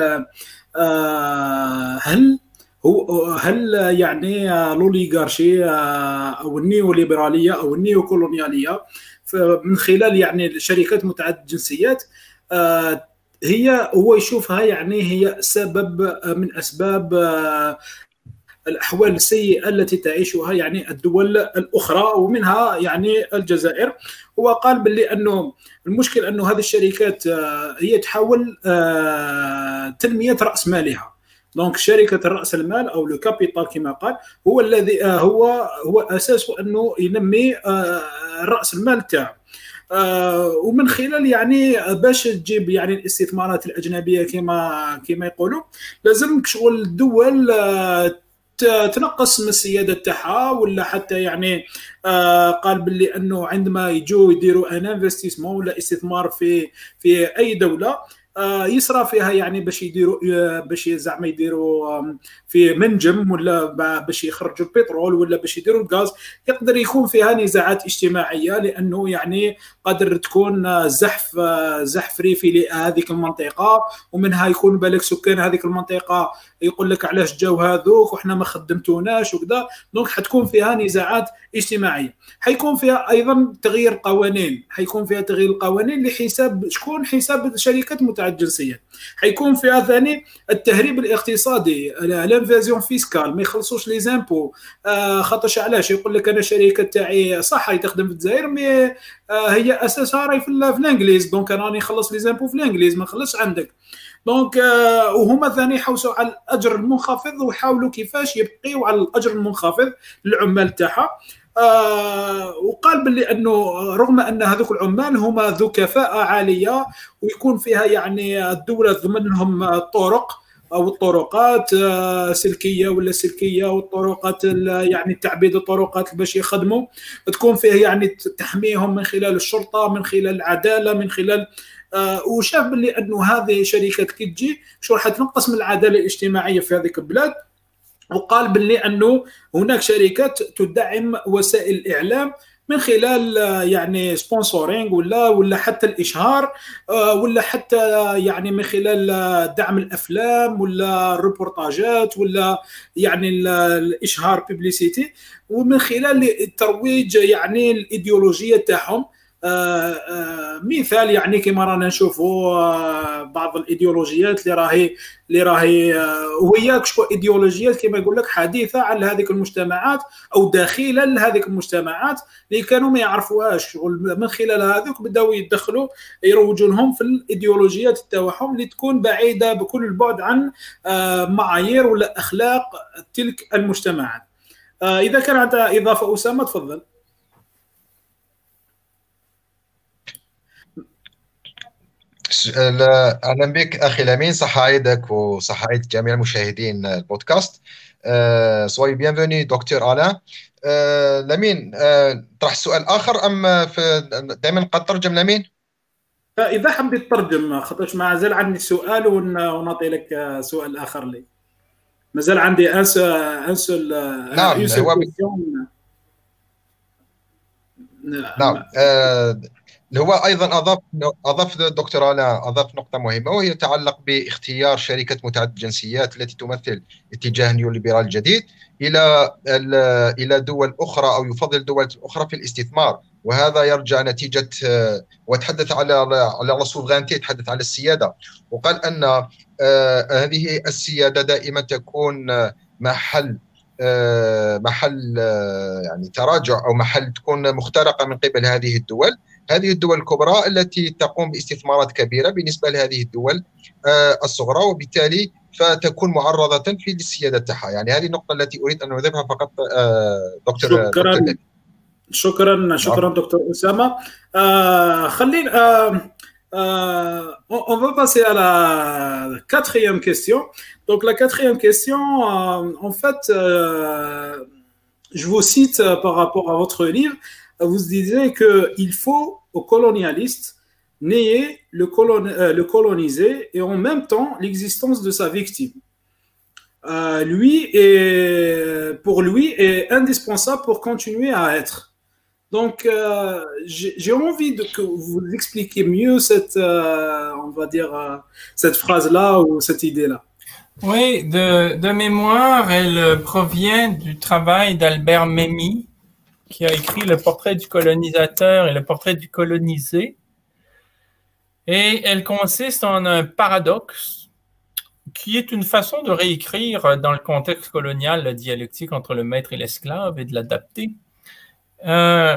آه هل هو هل يعني الأوليغارشي أو النيوليبرالية أو النيوكولونيالية من خلال يعني شركات متعددة الجنسيات آه هي هو يشوفها يعني هي سبب من أسباب الأحوال السيئة التي تعيشها يعني الدول الأخرى ومنها يعني الجزائر. وقال باللي أنه المشكل أنه هذه الشركات هي تحاول تنمية رأس مالها. دونك شركة رأس المال أو لو كابيتال كما قال هو الذي هو هو أساسه أنه ينمي رأس المال تاعه. آه ومن خلال يعني باش تجيب يعني الاستثمارات الأجنبية كما كما يقولوا لازم شغل الدول آه تنقص من السيادة تاعها ولا حتى يعني آه قال باللي أنه عندما يجوا يديروا ان انفستيسمون ولا استثمار في في أي دولة آه يسرى فيها يعني باش يديروا آه باش زعما يديروا آه في منجم ولا باش يخرجوا البترول ولا باش يديروا الغاز يقدر يكون فيها نزاعات اجتماعيه لانه يعني قادر تكون زحف آه زحف ريفي لهذيك المنطقه ومنها يكون بالك سكان هذيك المنطقه يقول لك علاش جاو هذوك وحنا ما خدمتوناش وكذا. دونك حتكون فيها نزاعات اجتماعيه. حيكون فيها ايضا تغيير قوانين حيكون فيها تغيير القوانين لحساب شكون حساب شركات متعدده الجنسيه. حيكون فيها ثاني التهريب الاقتصادي الانفازيون فيسكال ما يخلصوش لي زامبو آه خاطرش علاش يقول لك انا الشركه تاعي صح هي تخدم في الجزائر مي آه هي اساسها راهي في الانجليز دونك انا راني نخلص لي زامبو في الانجليز ما نخلصش عندك. دونك آه وهما ثاني يحوسوا على الاجر المنخفض ويحاولوا كيفاش يبقيوا على الاجر المنخفض للعمال تاعها. آه وقال باللي انه رغم ان هذوك العمال هما ذو كفاءه عاليه ويكون فيها يعني الدوله تضمن لهم الطرق او الطرقات آه سلكيه ولا سلكيه والطرقات يعني تعبيد الطرقات باش يخدموا تكون فيه يعني تحميهم من خلال الشرطه من خلال العداله من خلال آه وشاف باللي انه هذه شركات كي تجي شو راح تنقص من العداله الاجتماعيه في هذيك البلاد. وقال باللي أنه هناك شركات تدعم وسائل الإعلام من خلال يعني سبونسورينغ ولا ولا حتى الإشهار ولا حتى يعني من خلال دعم الأفلام ولا الريبورتاجات ولا يعني الإشهار بيبليسيتي ومن خلال الترويج يعني الإيديولوجية تاعهم. آه آه مثال يعني كما رانا نشوفوا آه بعض الايديولوجيات اللي راهي اللي راهي وهي شكون ايديولوجيات كما يقول لك حديثه على هذيك المجتمعات او داخله لهذيك المجتمعات اللي كانوا ما يعرفوهاش من خلال هذوك بداوا يدخلوا يروجوا لهم في الايديولوجيات تاعهم اللي تكون بعيده بكل البعد عن معايير ولا اخلاق تلك المجتمعات. اذا كان عندها اضافه اسامه تفضل. أهلا بك أخي لمين، صح عيدك وصح عيد جميع مشاهدين البودكاست. سوي بيانفوني دكتور آلان. لمين طرح سؤال آخر أم في دائما قد ترجم لمين؟ إذا حبيت ترجم خاطرش ما زال عندي سؤال ونعطي لك سؤال آخر لي. ما زال عندي ان سول نعم هو ب... نعم آه... هو ايضا اضاف اضاف الدكتور آلان اضاف نقطه مهمه، وهي تتعلق باختيار شركه متعدده الجنسيات التي تمثل اتجاه نيوليبرال جديد الى الى دول اخرى، او يفضل دول اخرى في الاستثمار. وهذا يرجع نتيجه، وتحدث على على لا سوفرانتي، تحدث على السياده، وقال ان آه هذه السياده دائما تكون محل آه محل آه يعني تراجع، او محل تكون مخترقه من قبل هذه الدول هذه الدول الكبرى التي تقوم باستثمارات كبيرة بالنسبة لهذه الدول الصغرى، وبالتالي فتكون معرضة في السيادة تاعها. يعني هذه النقطة التي أريد أن أضيفها فقط دكتور. شكرا دكتور شكرا شكرا دكتور أسامة. آه خلينا آه Euh, on, on va passer à la quatrième question. Donc la quatrième question, euh, en fait, euh, je vous cite euh, par rapport à votre livre. Vous disiez qu'il faut aux colonialistes nier le, colon, euh, le colonisé et en même temps l'existence de sa victime. Euh, lui est, pour lui est indispensable pour continuer à être. Donc, euh, j'ai envie de que vous expliquiez mieux cette, euh, on va dire, euh, cette phrase-là ou cette idée-là. Oui, de, de mémoire, elle provient du travail d'Albert Memmi, qui a écrit Le portrait du colonisateur et le portrait du colonisé. Et elle consiste en un paradoxe qui est une façon de réécrire dans le contexte colonial la dialectique entre le maître et l'esclave et de l'adapter. Euh,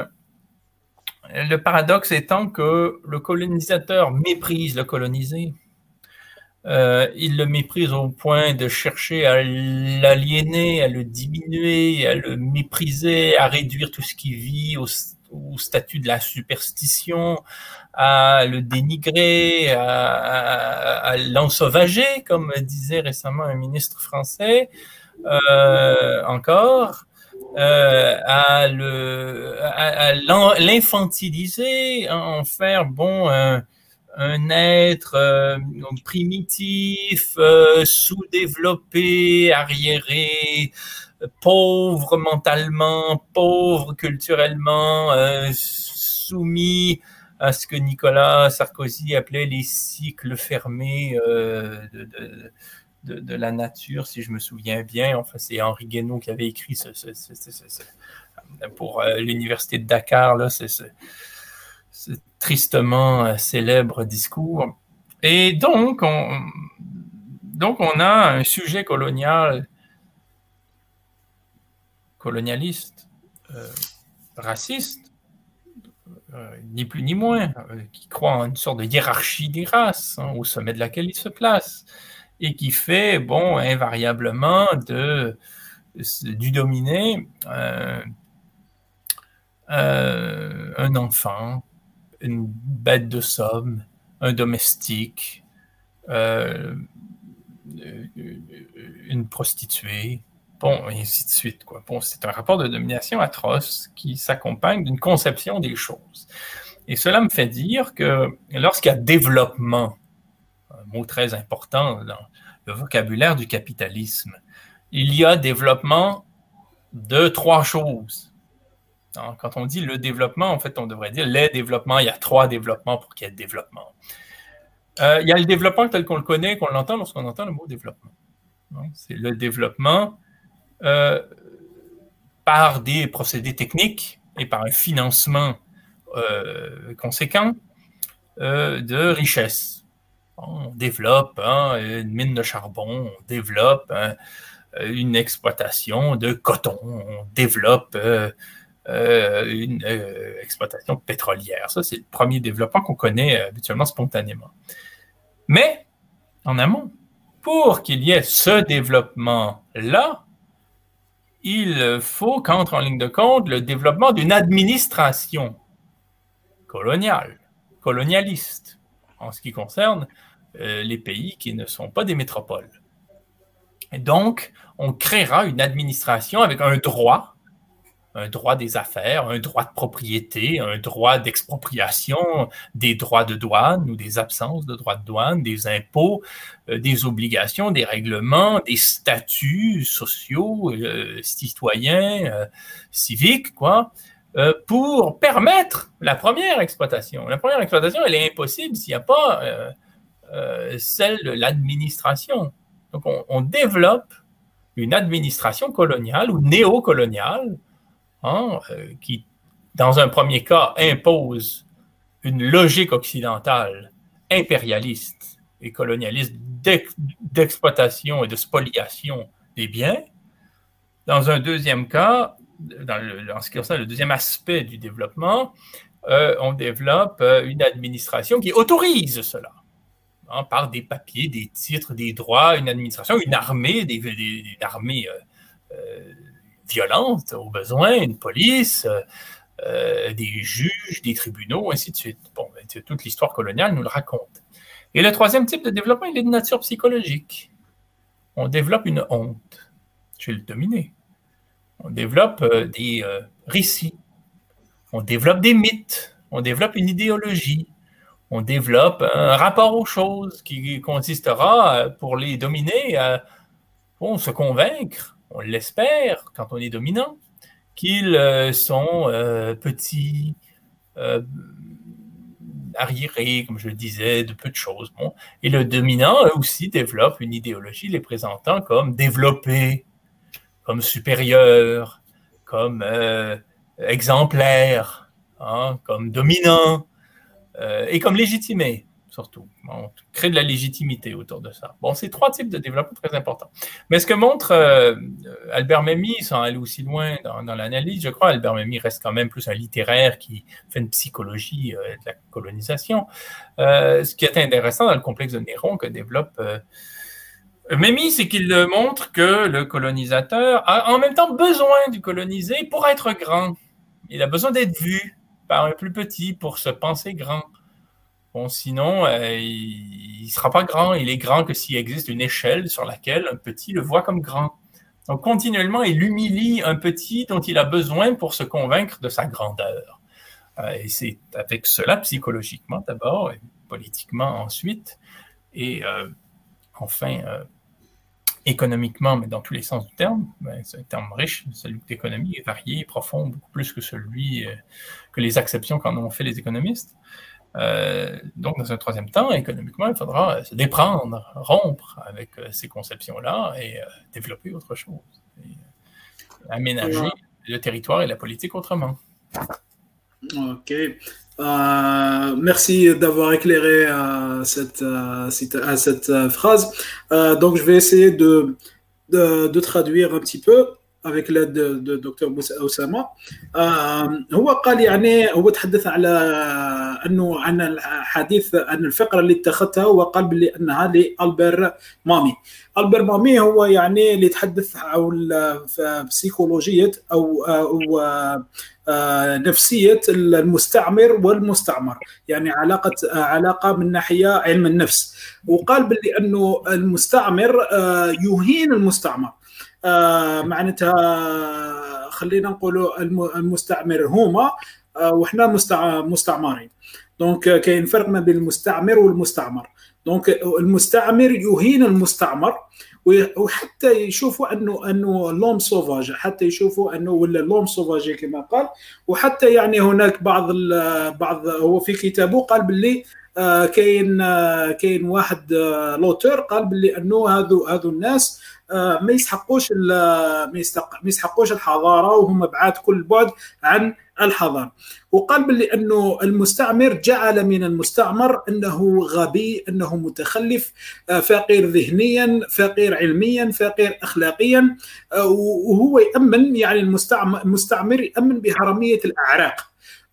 le paradoxe étant que le colonisateur méprise le colonisé. Euh, il le méprise au point de chercher à l'aliéner, à le diminuer, à le mépriser, à réduire tout ce qui vit au, au statut de la superstition, à le dénigrer, à, à, à l'ensauvager, comme disait récemment un ministre français, euh, encore. Euh, à le, à, à l'infantiliser, en faire bon un, un être euh, primitif, euh, sous-développé, arriéré, pauvre mentalement, pauvre culturellement, euh, soumis à ce que Nicolas Sarkozy appelait les cycles fermés euh, de, de De, de la nature, si je me souviens bien. Enfin, c'est Henri Guénaud qui avait écrit ce, ce, ce, ce, ce, ce pour euh, l'université de Dakar, là, c'est ce, ce tristement euh, célèbre discours. Et donc, on, donc, on a un sujet colonial, colonialiste, euh, raciste, euh, ni plus ni moins, euh, qui croit en une sorte de hiérarchie des races, hein, au sommet de laquelle il se place, et qui fait, bon, invariablement de, du dominé euh, euh, un enfant, une bête de somme, un domestique, euh, une prostituée, bon, et ainsi de suite, quoi. Bon, c'est un rapport de domination atroce qui s'accompagne d'une conception des choses. Et cela me fait dire que lorsqu'il y a développement, un mot très important dans le vocabulaire du capitalisme, il y a développement de trois choses. Donc, quand on dit le développement, en fait, on devrait dire les développements. Il y a trois développements pour qu'il y ait développement. Euh, il y a le développement tel qu'on le connaît, qu'on l'entend lorsqu'on entend le mot développement. Donc, c'est le développement euh, par des procédés techniques et par un financement euh, conséquent euh, de richesse. On développe hein, une mine de charbon, on développe hein, une exploitation de coton, on développe euh, euh, une euh, exploitation pétrolière. Ça, c'est le premier développement qu'on connaît euh, habituellement spontanément. Mais, en amont, pour qu'il y ait ce développement-là, il faut qu'entre en ligne de compte le développement d'une administration coloniale, colonialiste, en ce qui concerne euh, les pays qui ne sont pas des métropoles. Et donc, on créera une administration avec un droit, un droit des affaires, un droit de propriété, un droit d'expropriation, des droits de douane ou des absences de droits de douane, des impôts, euh, des obligations, des règlements, des statuts sociaux, euh, citoyens, euh, civiques, quoi, euh, pour permettre la première exploitation. La première exploitation, elle est impossible s'il n'y a pas euh, euh, celle de l'administration. Donc, on, on développe une administration coloniale ou néocoloniale hein, euh, qui, dans un premier cas, impose une logique occidentale impérialiste et colonialiste d'exploitation et de spoliation des biens. Dans un deuxième cas, dans, le, dans ce qui concerne le deuxième aspect du développement, euh, on développe euh, une administration qui autorise cela. Hein, par des papiers, des titres, des droits, une administration, une armée, des, des, des armées euh, euh, violentes au besoin, une police, euh, des juges, des tribunaux, ainsi de suite. Bon, ben, toute l'histoire coloniale nous le raconte. Et le troisième type de développement, il est de nature psychologique. On développe une honte chez le dominé. On développe euh, des euh, récits. On développe des mythes. On développe une idéologie. On développe un rapport aux choses qui consistera pour les dominer à bon, se convaincre, on l'espère quand on est dominant, qu'ils sont euh, petits, euh, arriérés, comme je le disais, de peu de choses. Bon. Et le dominant, eux aussi, développe une idéologie les présentant comme développés, comme supérieurs, comme euh, exemplaires, hein, comme dominants. Euh, et comme légitimé, surtout. On crée de la légitimité autour de ça. Bon, c'est trois types de développement très importants. Mais ce que montre euh, Albert Memmi, sans aller aussi loin dans, dans l'analyse, je crois, Albert Memmi reste quand même plus un littéraire qui fait une psychologie euh, de la colonisation. Euh, ce qui est intéressant dans le complexe de Néron que développe euh, Memmi, c'est qu'il montre que le colonisateur a en même temps besoin du colonisé pour être grand. Il a besoin d'être vu par un plus petit pour se penser grand. Bon, sinon, euh, il ne sera pas grand. Il est grand que s'il existe une échelle sur laquelle un petit le voit comme grand. Donc, continuellement, il humilie un petit dont il a besoin pour se convaincre de sa grandeur. Euh, et c'est avec cela, psychologiquement d'abord, et politiquement ensuite, et euh, enfin, euh, économiquement, mais dans tous les sens du terme, ben, c'est un terme riche, celui d'économie est varié, profond, beaucoup plus que celui, euh, que les acceptions qu'en ont fait les économistes. Euh, donc, dans un troisième temps, économiquement, il faudra se déprendre, rompre avec euh, ces conceptions-là et euh, développer autre chose. Et, euh, aménager ouais. le territoire et la politique autrement. Ok. Euh, merci d'avoir éclairé euh, cette, euh, cette, euh, cette euh, phrase. Euh, donc, je vais essayer de, de, de traduire un petit peu avec l'aide de, de دكتور أسامة. هو قال يعني هو تحدث على أنه عن الحديث عن الفقرة اللي اتخذتها وقال بلي أنها لألبير مامي. ألبير مامي هو يعني اللي يتحدث عن بسيكولوجية أو, أو نفسية المستعمر والمستعمر، يعني علاقة علاقة من ناحية علم النفس. وقال بلي أنه المستعمر يهين المستعمر. آه معناتها خلينا نقولوا المستعمر هما آه وحنا مستعمرين. دونك كاين فرق ما بين المستعمر والمستعمر. دونك المستعمر يهين المستعمر وحتى يشوفوا انه انه لوم سوفاج، حتى يشوفوا انه ولا لوم سوفاج كما قال. وحتى يعني هناك بعض بعض هو في كتابه قال باللي آه كاين آه كاين واحد آه لوتور قال باللي انه هذو هذو الناس آه ما يسحقوش ما يسحقوش الحضاره وهم بعاد كل بعد عن الحضاره. وقال باللي انه المستعمر جعل من المستعمر انه غبي، انه متخلف، آه فقير ذهنيا، فقير علميا، فقير اخلاقيا، آه وهو يامن يعني المستعمر المستعمر يامن بهرميه الاعراق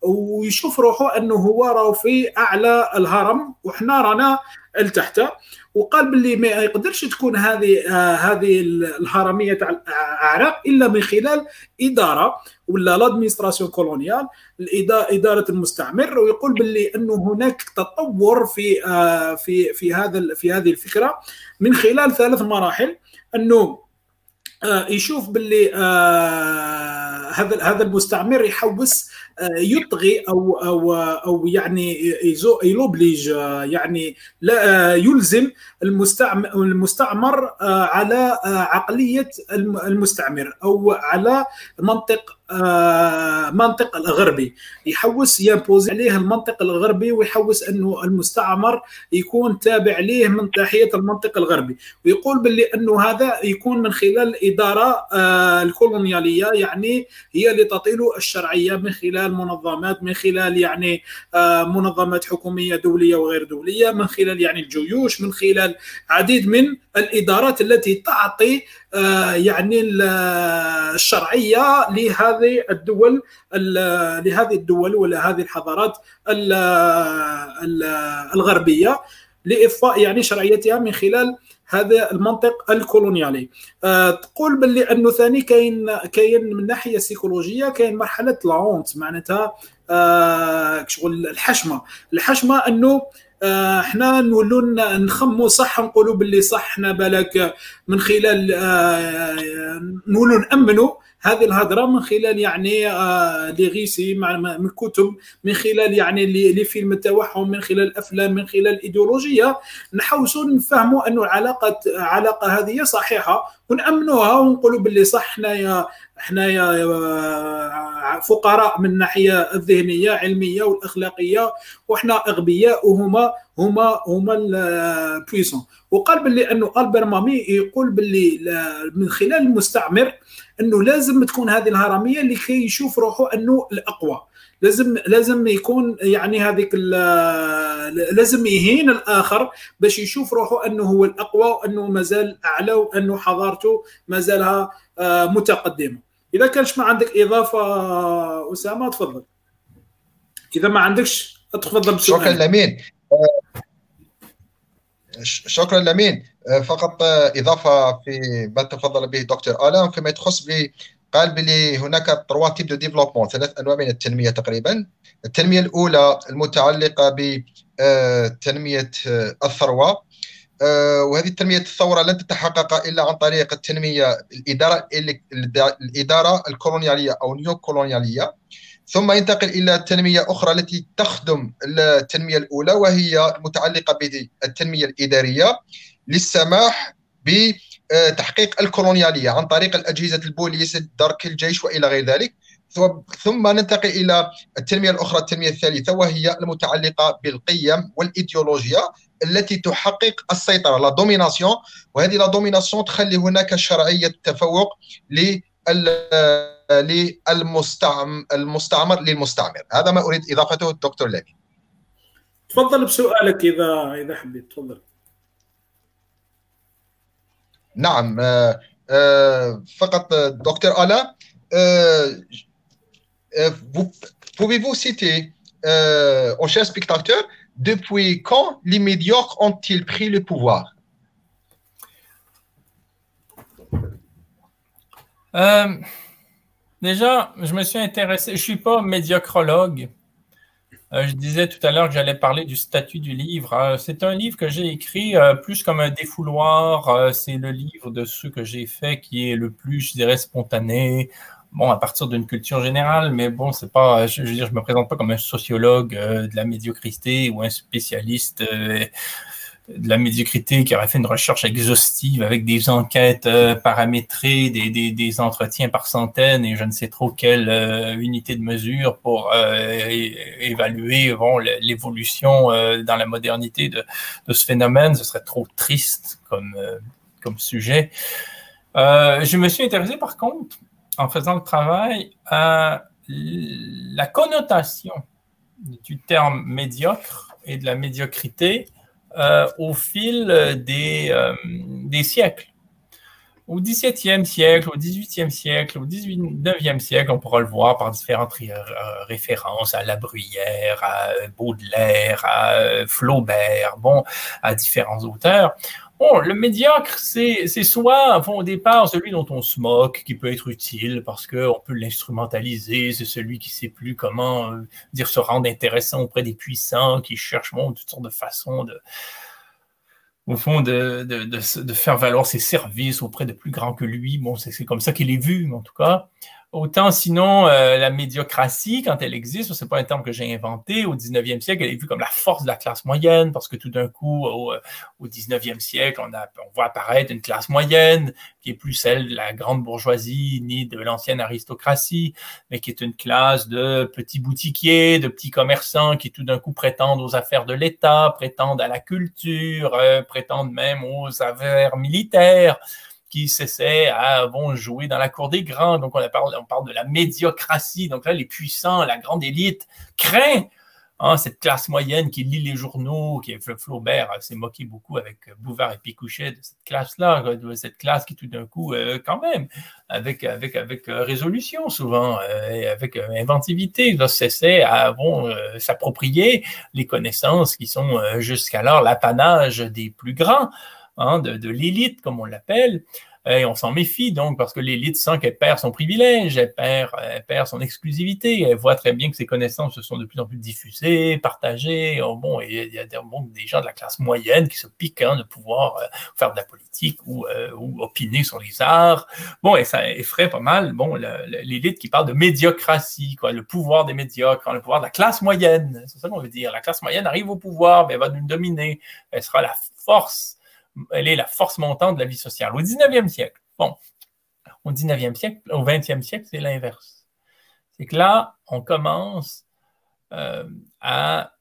ويشوف روحه انه هو راه في اعلى الهرم وحنا رانا لتحت. وقال باللي ما يقدرش تكون هذه آه هذه الهرميه تاع الاعراق الا من خلال اداره ولا لادمينستراسيون كولونيال، اداره المستعمر. ويقول باللي انه هناك تطور في آه في في هذا في هذه الفكره من خلال ثلاث مراحل. انه آه يشوف باللي آه هذا هذا المستعمر يحوس آه يطغي او او او يعني يلوبليج آه يعني لا آه يلزم المستعمر المستعمر آه على آه عقليه المستعمر او على منطق آه منطق الغربي، يحوس يمبوز عليه المنطق الغربي ويحوس انه المستعمر يكون تابع ليه من ناحيه المنطق الغربي. ويقول باللي انه هذا يكون من خلال الاداره آه الكولونياليه، يعني هي اللي تطيل الشرعيه من خلال منظمات، من خلال يعني آه منظمات حكوميه دوليه وغير دوليه، من خلال يعني الجيوش، من خلال عديد من الادارات التي تعطي آه يعني الشرعيه لهذه الدول لهذه الدول ولا هذه الحضارات الغربيه لاضفاء يعني شرعيتها من خلال هذا المنطق الكولونيالي. أه تقول باللي انه ثاني كاين كاين من ناحيه سيكولوجيه كاين مرحله لاونت، معناتها أه شغل الحشمه الحشمه انه احنا نولوا نخموا صح، نقولوا باللي صح احنا بالك من خلال اه نولوا نامنوا هذه الهضره من خلال يعني اه لي غيسي من كتب، من خلال يعني لي فيلم التوحم، من خلال الافلام، من خلال الايديولوجيه، نحاولوا نفهموا انه العلاقه علاقه هذه صحيحه ونامنوها ونقولوا باللي صح احنا احنا فقراء من الناحيه الذهنيه علميه والاخلاقيه، واحنا اغبياء وهما هما هما البويسون. وقال باللي انه ألبير مامي يقول باللي من خلال المستعمر انه لازم تكون هذه الهرميه اللي كي يشوف روحه انه الاقوى، لازم لازم يكون يعني هذيك لازم يهين الاخر باش يشوف روحه انه هو الاقوى وانه مازال اعلى وانه حضارته مازالها متقدمه. اذا كانش ما عندك اضافه اسامه تفضل، اذا ما عندكش تفضل بسؤال. شكرا لمين شكرا لمين فقط اضافه في ما تفضل به دكتور آلان فيما يخص بي قال بلي هناك تروا تيب دو ديفلوبمون، ثلاث انواع من التنميه تقريبا. التنميه الاولى المتعلقه بتنميه الثروه، وهذه التنميه الثوره لن تتحقق الا عن طريق التنميه الاداره الاداره الكولونياليه او نيو كولونياليه. ثم ينتقل الى تنميه اخرى التي تخدم التنميه الاولى، وهي المتعلقه بالتنميه الاداريه للسماح بتحقيق الكولونياليه عن طريق الاجهزه البوليس، الدرك، الجيش والى غير ذلك. ثم ننتقل الى التنميه الاخرى، التنميه الثالثه، وهي المتعلقه بالقيم والايديولوجيا التي تحقق السيطره، لا دوميناسيون. وهذه لا دوميناسيون تخلي هناك شرعيه تفوق لل للمستعمر المستعمر للمستعمر. هذا ما اريد اضافته الدكتور لمين. تفضل بسؤالك اذا اذا حبيت تفضل. نعم فقط دكتور آلان، pouvez-vous citer aux chers spectateurs depuis quand les médiocres ont-ils pris le pouvoir? Euh, déjà, je me suis intéressé, je ne suis pas médiocrologue. Euh, je disais tout à l'heure que j'allais parler du statut du livre. Euh, c'est un livre que j'ai écrit euh, plus comme un défouloir. Euh, c'est le livre de ceux que j'ai fait qui est le plus, je dirais, spontané. Bon, à partir d'une culture générale, mais bon, c'est pas, je, je veux dire, je me présente pas comme un sociologue euh, de la médiocrité ou un spécialiste euh, de la médiocrité qui aurait fait une recherche exhaustive avec des enquêtes euh, paramétrées, des, des, des entretiens par centaines et je ne sais trop quelle euh, unité de mesure pour euh, é- évaluer bon, l'évolution euh, dans la modernité de, de ce phénomène. Ce serait trop triste comme, euh, comme sujet. Euh, je me suis intéressé par contre, en faisant le travail, à la connotation du terme médiocre et de la médiocrité Euh, au fil des, euh, des siècles. au dix-septième siècle, au dix-huitième siècle, au dix-neuvième siècle, on pourra le voir par différentes ré références à La Bruyère, à Baudelaire, à Flaubert, bon, à différents auteurs. Bon, le médiocre, c'est soit, bon, au départ, celui dont on se moque, qui peut être utile parce qu'on peut l'instrumentaliser, c'est celui qui ne sait plus comment euh, dire se rendre intéressant auprès des puissants, qui cherche bon, toutes sortes de façons de au fond, de, de, de, de faire valoir ses services auprès de plus grands que lui. Bon, c'est comme ça qu'il est vu, en tout cas. Autant sinon, euh, la médiocratie, quand elle existe, c'est pas un terme que j'ai inventé, au dix-neuvième siècle, elle est vue comme la force de la classe moyenne, parce que tout d'un coup, au, au dix-neuvième siècle, on, a, on voit apparaître une classe moyenne, qui est plus celle de la grande bourgeoisie, ni de l'ancienne aristocratie, mais qui est une classe de petits boutiquiers, de petits commerçants, qui tout d'un coup prétendent aux affaires de l'État, prétendent à la culture, euh, prétendent même aux affaires militaires, qui s'essaient à bon, jouer dans la cour des grands. Donc, on parle, on parle de la médiocratie. Donc là, les puissants, la grande élite craint hein, cette classe moyenne qui lit les journaux, qui Flaubert s'est moqué beaucoup avec Bouvard et Pécuchet de cette classe-là, de cette classe qui tout d'un coup, euh, quand même, avec, avec, avec résolution souvent, euh, avec inventivité, s'essaie à bon, euh, s'approprier les connaissances qui sont euh, jusqu'alors l'apanage des plus grands. Hein, de, de l'élite, comme on l'appelle, et on s'en méfie donc parce que l'élite sent qu'elle perd son privilège, elle perd, elle perd son exclusivité, elle voit très bien que ses connaissances se sont de plus en plus diffusées, partagées, oh, bon, et il y a des, bon, des gens de la classe moyenne qui se piquent hein, de pouvoir euh, faire de la politique ou, euh, ou opiner sur les arts, bon, et ça effraie pas mal, bon, l'élite qui parle de médiocratie, quoi, le pouvoir des médiocres, hein, le pouvoir de la classe moyenne, c'est ça qu'on veut dire, la classe moyenne arrive au pouvoir, mais elle va nous dominer, elle sera la force. Elle est la force montante de la vie sociale. Au dix-neuvième siècle, bon, au dix-neuvième siècle, au vingtième siècle, c'est l'inverse. C'est que là, on commence euh, à,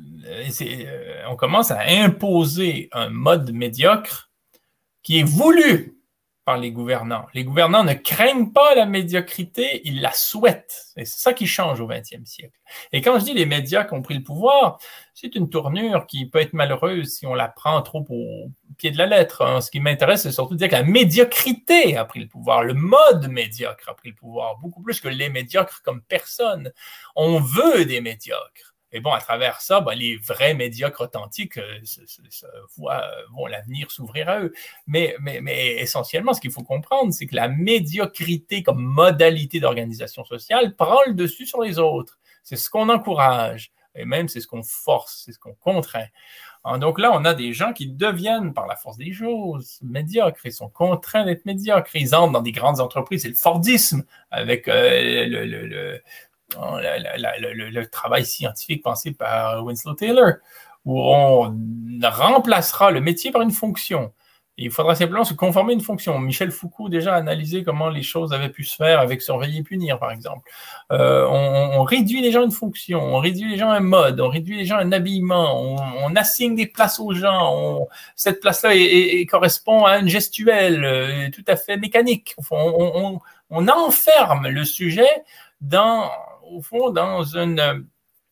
euh, on commence à imposer un mode médiocre qui est voulu par les gouvernants. Les gouvernants ne craignent pas la médiocrité, ils la souhaitent. Et c'est ça qui change au vingtième siècle. Et quand je dis les médiocres ont pris le pouvoir, c'est une tournure qui peut être malheureuse si on la prend trop au pied de la lettre. Hein. Ce qui m'intéresse, c'est surtout de dire que la médiocrité a pris le pouvoir, le mode médiocre a pris le pouvoir, beaucoup plus que les médiocres comme personne. On veut des médiocres. Et bon, à travers ça, ben, les vrais médiocres authentiques euh, se, se, se voient bon, l'avenir s'ouvrir à eux. Mais, mais, mais essentiellement, ce qu'il faut comprendre, c'est que la médiocrité comme modalité d'organisation sociale prend le dessus sur les autres. C'est ce qu'on encourage, et même c'est ce qu'on force, c'est ce qu'on contraint. Donc là, on a des gens qui deviennent, par la force des choses, médiocres. Ils sont contraints d'être médiocres. Ils entrent dans des grandes entreprises. C'est le Fordisme, avec euh, le... le, le La, la, la, le, le travail scientifique pensé par Winslow Taylor, où on remplacera le métier par une fonction. Et il faudra simplement se conformer à une fonction. Michel Foucault déjà a analysé comment les choses avaient pu se faire avec surveiller et punir, par exemple. Euh, on, on réduit les gens à une fonction, on réduit les gens à un mode, on réduit les gens à un habillement, on, on assigne des places aux gens. On, cette place-là est, est, est, correspond à une gestuelle euh, tout à fait mécanique. On, on, on enferme le sujet dans... au fond, dans une,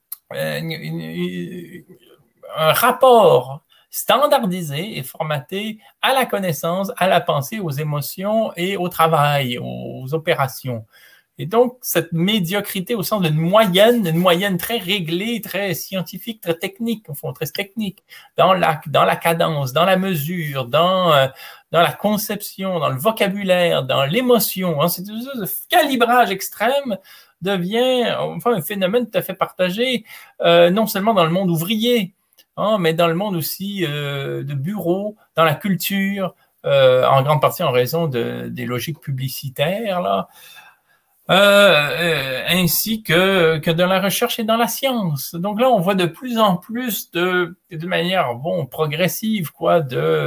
une, une, un rapport standardisé et formaté à la connaissance, à la pensée, aux émotions et au travail, aux opérations. Et donc, cette médiocrité au sens d'une moyenne, une moyenne très réglée, très scientifique, très technique, au fond, très technique, dans la, dans la cadence, dans la mesure, dans, euh, dans la conception, dans le vocabulaire, dans l'émotion, hein, c'est une sorte de calibrage extrême devient enfin un phénomène tout à fait partagé, euh, non seulement dans le monde ouvrier, hein, mais dans le monde aussi euh, de bureaux, dans la culture, euh, en grande partie en raison de, des logiques publicitaires, là, euh, euh, ainsi que, que dans la recherche et dans la science. Donc là, on voit de plus en plus de, de manière bon, progressive quoi,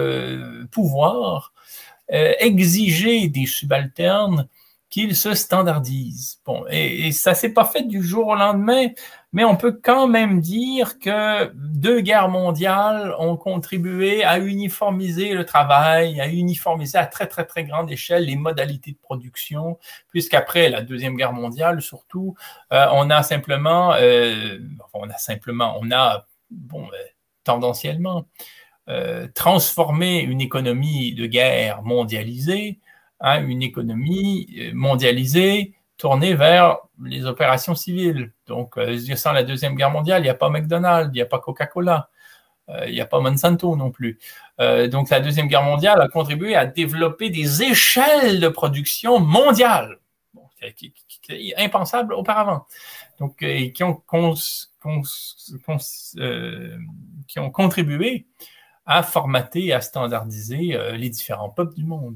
de pouvoir euh, exiger des subalternes qu'ils se standardisent. Bon, et, et ça s'est pas fait du jour au lendemain, mais on peut quand même dire que deux guerres mondiales ont contribué à uniformiser le travail, à uniformiser à très, très, très grande échelle les modalités de production, puisqu'après la Deuxième Guerre mondiale, surtout, euh, on a simplement, euh, on a simplement, on a, bon, euh, tendanciellement, euh, transformé une économie de guerre mondialisée à une économie mondialisée tournée vers les opérations civiles. Donc, euh, sans la Deuxième Guerre mondiale, il n'y a pas McDonald's, il n'y a pas Coca-Cola, euh, il n'y a pas Monsanto non plus. Euh, donc, la Deuxième Guerre mondiale a contribué à développer des échelles de production mondiales, bon, qui, qui, qui est impensable auparavant. Donc, euh, qui, ont cons, cons, cons, euh, qui ont contribué à formater, à standardiser euh, les différents peuples du monde.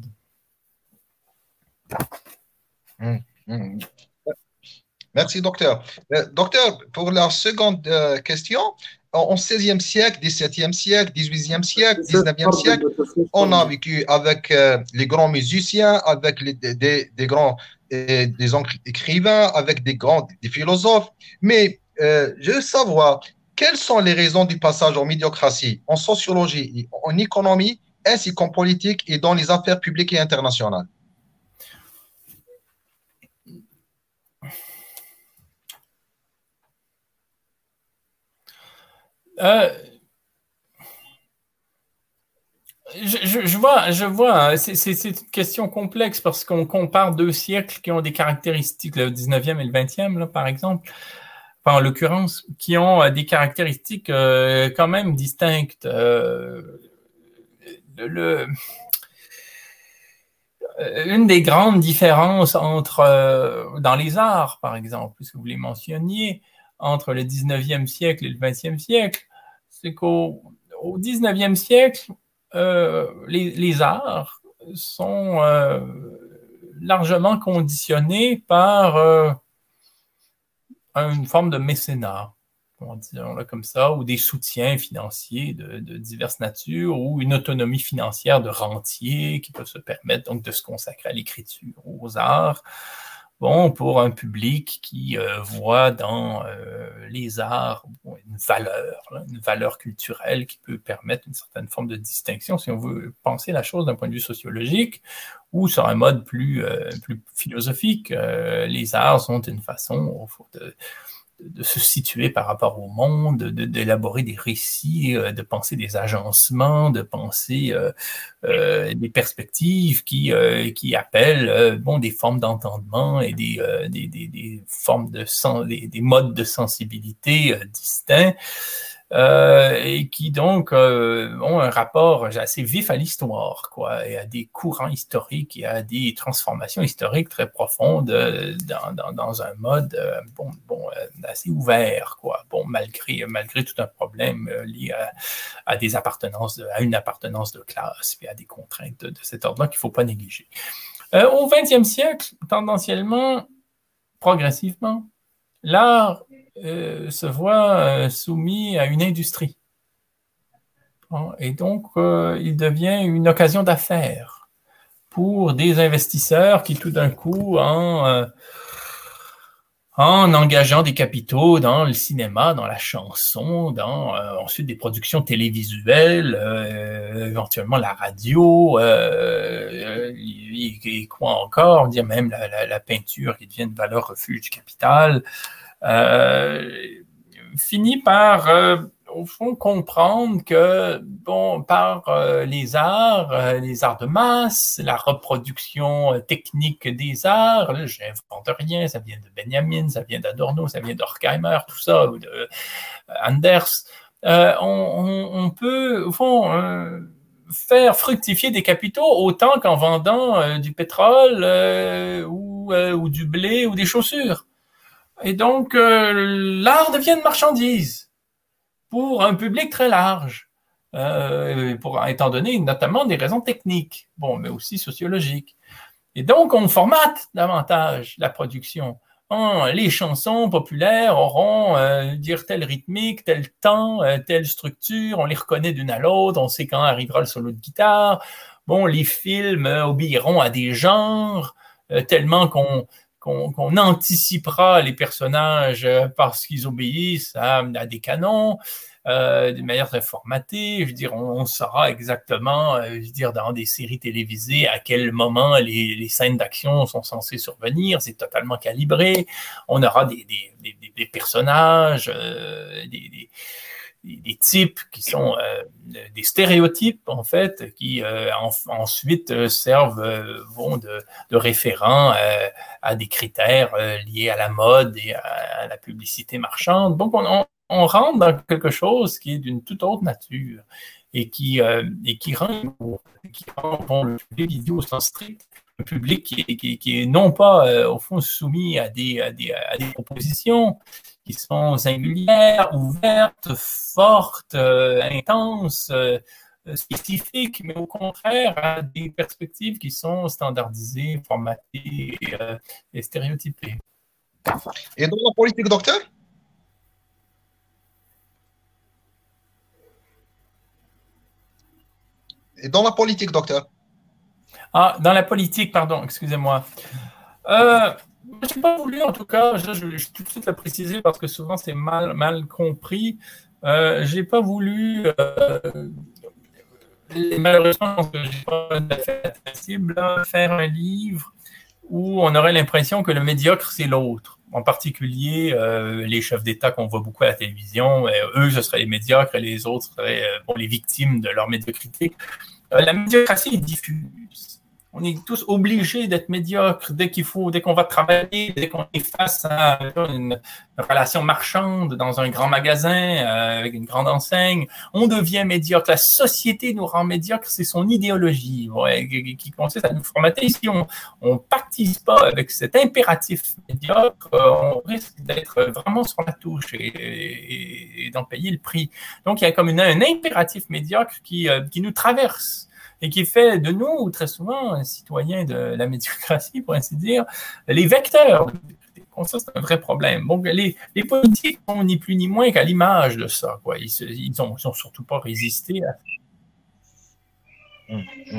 Mmh, mmh. Merci, docteur. Euh, docteur, pour la seconde euh, question, en seizième siècle, dix-septième siècle, dix-huitième siècle, dix-neuvième siècle, on a vécu avec euh, les grands musiciens, avec les, des, des grands euh, des écrivains, avec des grands des philosophes. Mais euh, je veux savoir, quelles sont les raisons du passage en médiocratie, en sociologie, en économie, ainsi qu'en politique et dans les affaires publiques et internationales? Euh, je, je, je vois, je vois, c'est une question complexe parce qu'on compare deux siècles qui ont des caractéristiques, le dix-neuvième et le vingtième, là, par exemple, enfin, en l'occurrence, qui ont euh, des caractéristiques euh, quand même distinctes. Euh, le, le, une des grandes différences entre, euh, dans les arts, par exemple, puisque vous les mentionniez, entre le dix-neuvième siècle et le vingtième siècle, c'est qu'au au dix-neuvième siècle, euh, les, les arts sont euh, largement conditionnés par euh, une forme de mécénat, disons-le comme ça, ou des soutiens financiers de, de diverses natures, ou une autonomie financière de rentiers qui peuvent se permettre donc de se consacrer à l'écriture, aux arts. Bon, pour un public qui euh, voit dans euh, les arts bon, une valeur, là, une valeur culturelle qui peut permettre une certaine forme de distinction, si on veut penser la chose d'un point de vue sociologique, ou sur un mode plus, euh, plus philosophique, euh, les arts sont une façon de, de se situer par rapport au monde, d'élaborer de, des récits, de penser des agencements, de penser euh, euh, des perspectives qui, euh, qui appellent euh, bon, des formes d'entendement et des, euh, des, des, des formes de sens, des, des modes de sensibilité euh, distincts. Euh, et qui donc euh, ont un rapport assez vif à l'histoire, quoi, et à des courants historiques et à des transformations historiques très profondes euh, dans, dans, dans un mode euh, bon, bon, euh, assez ouvert, quoi, bon, malgré, malgré tout un problème euh, lié à, à des appartenances, de, à une appartenance de classe, et à des contraintes de, de cet ordre-là qu'il ne faut pas négliger. Euh, au vingtième siècle, tendanciellement, progressivement, l'art Euh, se voit euh, soumis à une industrie. Bon, et donc, euh, il devient une occasion d'affaires pour des investisseurs qui, tout d'un coup, en, euh, en engageant des capitaux dans le cinéma, dans la chanson, dans euh, ensuite des productions télévisuelles, euh, éventuellement la radio, euh, et, et quoi encore, on dit même la, la, la peinture qui devient une valeur refuge du capital. Euh, finit par, euh, au fond, comprendre que, bon, par euh, les arts, euh, les arts de masse, la reproduction euh, technique des arts, là, j'invente rien, ça vient de Benjamin, ça vient d'Adorno, ça vient d'Horkheimer, tout ça, ou de euh, Anders, euh, on, on, on peut, au fond, euh, faire fructifier des capitaux autant qu'en vendant euh, du pétrole euh, ou, euh, ou du blé ou des chaussures. Et donc, euh, l'art devient une marchandise pour un public très large, euh, pour, étant donné notamment des raisons techniques, bon, mais aussi sociologiques. Et donc, on formate davantage la production. Oh, les chansons populaires auront euh, dire telle rythmique, tel temps, euh, telle structure, on les reconnaît d'une à l'autre, on sait quand arrivera le solo de guitare. Bon, les films euh, obéiront à des genres, euh, tellement qu'on qu'on qu'on anticipera les personnages parce qu'ils obéissent à, à des canons euh, d'une manière très formatée. Je veux dire, on, on saura exactement, euh, je veux dire, dans des séries télévisées à quel moment les, les scènes d'action sont censées survenir. C'est totalement calibré. On aura des, des, des, des personnages, euh, des, des des, des types qui sont euh, des stéréotypes, en fait, qui euh, en, ensuite euh, servent euh, vont de, de référents euh, à des critères euh, liés à la mode et à, à la publicité marchande. Donc, on, on, on rentre dans quelque chose qui est d'une toute autre nature et qui, euh, et qui rend, qui rend bon, le public vidéo au sens strict, un public qui est, qui, qui est non pas, euh, au fond, soumis à des, à des, à des propositions qui sont singulières, ouvertes, fortes, euh, intenses, euh, spécifiques, mais au contraire à des perspectives qui sont standardisées, formatées et, euh, et stéréotypées. Et dans la politique, docteur? Et dans la politique, docteur? Ah, dans la politique, pardon, excusez-moi. Euh, je n'ai pas voulu, en tout cas, je, je, je tout de suite le préciser parce que souvent c'est mal, mal compris. Euh, je n'ai pas voulu, euh, malheureusement, je n'ai pas fait possible, faire un livre où on aurait l'impression que le médiocre, c'est l'autre. En particulier, euh, les chefs d'État qu'on voit beaucoup à la télévision, euh, eux, ce seraient les médiocres et les autres seraient euh, bon, les victimes de leur médiocrité. Euh, la médiocratie est diffuse. On est tous obligés d'être médiocres dès qu'il faut, dès qu'on va travailler, dès qu'on est face à une, une relation marchande dans un grand magasin euh, avec une grande enseigne. On devient médiocre. La société nous rend médiocres, c'est son idéologie ouais, qui, qui consiste à nous formater. Si on ne pactise pas avec cet impératif médiocre, euh, on risque d'être vraiment sur la touche et, et, et d'en payer le prix. Donc, il y a comme une, un impératif médiocre qui, euh, qui nous traverse et qui fait de nous, très souvent, citoyens de la médiocratie, pour ainsi dire, les vecteurs. Donc ça, c'est un vrai problème. Donc, les, les politiques sont ni plus ni moins qu'à l'image de ça. Quoi. Ils n'ont surtout pas résisté à mmh, mmh.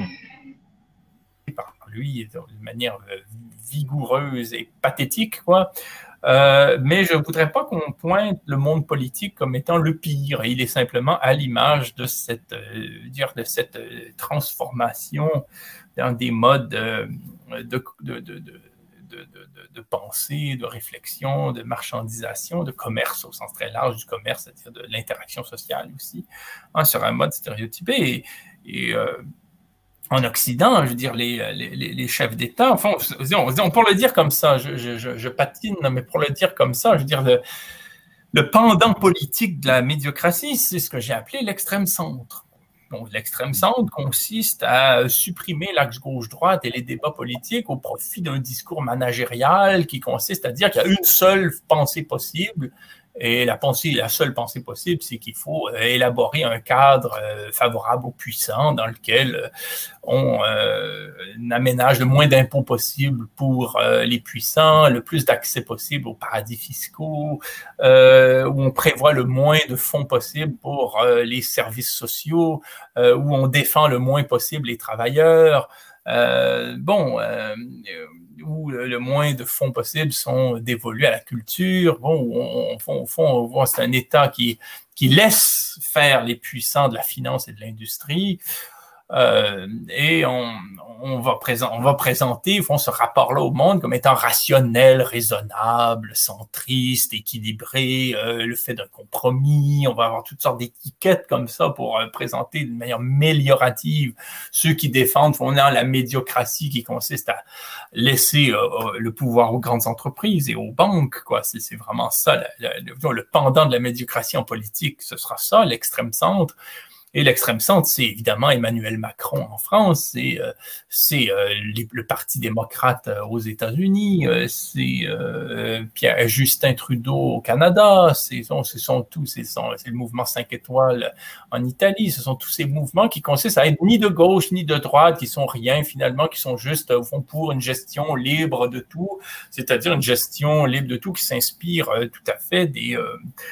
par lui de manière vigoureuse et pathétique, quoi. Euh, mais je ne voudrais pas qu'on pointe le monde politique comme étant le pire. Il est simplement à l'image de cette, euh, dire de cette euh, transformation dans des modes euh, de, de, de, de, de, de, de pensée, de réflexion, de marchandisation, de commerce au sens très large du commerce, c'est-à-dire de l'interaction sociale aussi, hein, sur un mode stéréotypé. Et, et euh, en Occident, je veux dire, les, les, les chefs d'État, enfin, on, on peut le dire comme ça, je, je, je patine, mais pour le dire comme ça, je veux dire, le, le pendant politique de la médiocratie, c'est ce que j'ai appelé l'extrême centre. Donc, l'extrême centre consiste à supprimer l'axe gauche-droite et les débats politiques au profit d'un discours managérial qui consiste à dire qu'il y a une seule pensée possible. Et la pensée, la seule pensée possible, c'est qu'il faut élaborer un cadre euh, favorable aux puissants dans lequel on euh, aménage le moins d'impôts possible pour euh, les puissants, le plus d'accès possible aux paradis fiscaux, euh, où on prévoit le moins de fonds possible pour euh, les services sociaux, euh, où on défend le moins possible les travailleurs. Euh, bon, euh, où le moins de fonds possibles sont dévolus à la culture. Bon, on, on, on, on, c'est un État qui, qui laisse faire les puissants de la finance et de l'industrie. Euh, et on, on, va présent, on va présenter font ce rapport-là au monde comme étant rationnel, raisonnable, centriste, équilibré, euh, le fait d'un compromis. On va avoir toutes sortes d'étiquettes comme ça pour euh, présenter d'une manière améliorative ceux qui défendent font la médiocratie qui consiste à laisser euh, le pouvoir aux grandes entreprises et aux banques. Quoi. C'est, c'est vraiment ça, la, la, le, le pendant de la médiocratie en politique, ce sera ça, l'extrême centre. Et l'extrême centre, c'est évidemment Emmanuel Macron en France, c'est, euh, c'est euh, les, le Parti démocrate aux États-Unis, euh, c'est euh, Pierre, Justin Trudeau au Canada, c'est, ce sont tous, c'est, c'est le mouvement cinq étoiles en Italie, ce sont tous ces mouvements qui consistent à être ni de gauche ni de droite, qui sont rien finalement, qui sont juste au fond pour une gestion libre de tout, c'est-à-dire une gestion libre de tout qui s'inspire euh, tout à fait des... Euh,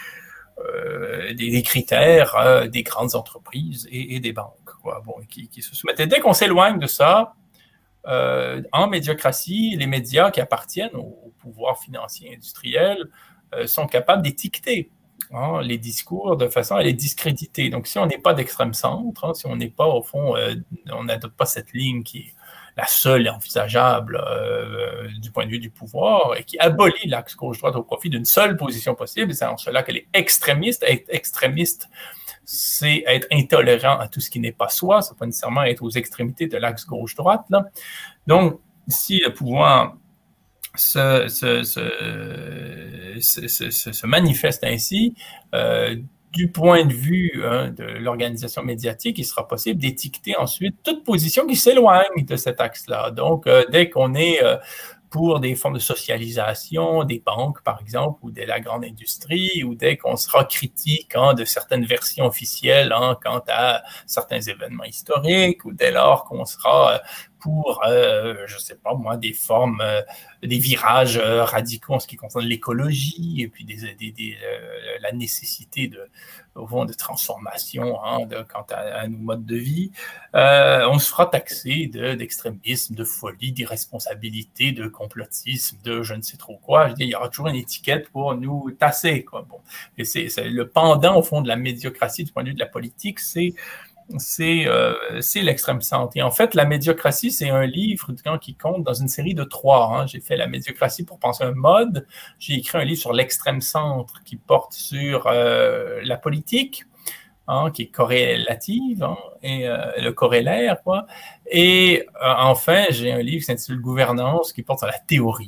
Euh, des, des critères euh, des grandes entreprises et, et des banques, quoi, bon, qui, qui se soumettent. Et dès qu'on s'éloigne de ça, euh, en médiocratie, les médias qui appartiennent au, au pouvoir financier industriel euh, sont capables d'étiqueter hein, les discours de façon à les discréditer. Donc, si on n'est pas d'extrême centre, hein, si on n'est pas, au fond, euh, on n'adopte pas cette ligne qui est la seule envisageable euh, du point de vue du pouvoir, et qui abolit l'axe gauche-droite au profit d'une seule position possible. C'est en cela qu'elle est extrémiste. Être extrémiste, c'est être intolérant à tout ce qui n'est pas soi, c'est pas nécessairement être aux extrémités de l'axe gauche-droite. Là. Donc, si le pouvoir se, se, se, se, se, se manifeste ainsi, euh, du point de vue hein, de l'organisation médiatique, il sera possible d'étiqueter ensuite toute position qui s'éloigne de cet axe-là. Donc, euh, dès qu'on est euh, pour des formes de socialisation des banques, par exemple, ou de la grande industrie, ou dès qu'on sera critique hein, de certaines versions officielles hein, quant à certains événements historiques, ou dès lors qu'on sera pour, euh, je ne sais pas moi, des formes, euh, des virages euh, radicaux en ce qui concerne l'écologie, et puis des, des, des, euh, la nécessité de, au fond, de transformation hein, de, quant à, à nos modes de vie, euh, on se fera taxer de, d'extrémisme, de folie, d'irresponsabilité, de complotisme, de je ne sais trop quoi. Je veux dire, il y aura toujours une étiquette pour nous tasser, quoi. Bon. Et c'est, c'est le pendant, au fond, de la médiocratie du point de vue de la politique, c'est c'est euh, c'est l'extrême centre. Et en fait, La médiocratie, c'est un livre qui compte dans une série de trois. Hein. J'ai fait La médiocratie pour penser un mode. J'ai écrit un livre sur l'extrême centre qui porte sur euh, la politique, hein, qui est corrélative, hein, et euh, le corrélaire, quoi. Et euh, enfin, j'ai un livre qui s'intitule Gouvernance qui porte sur la théorie.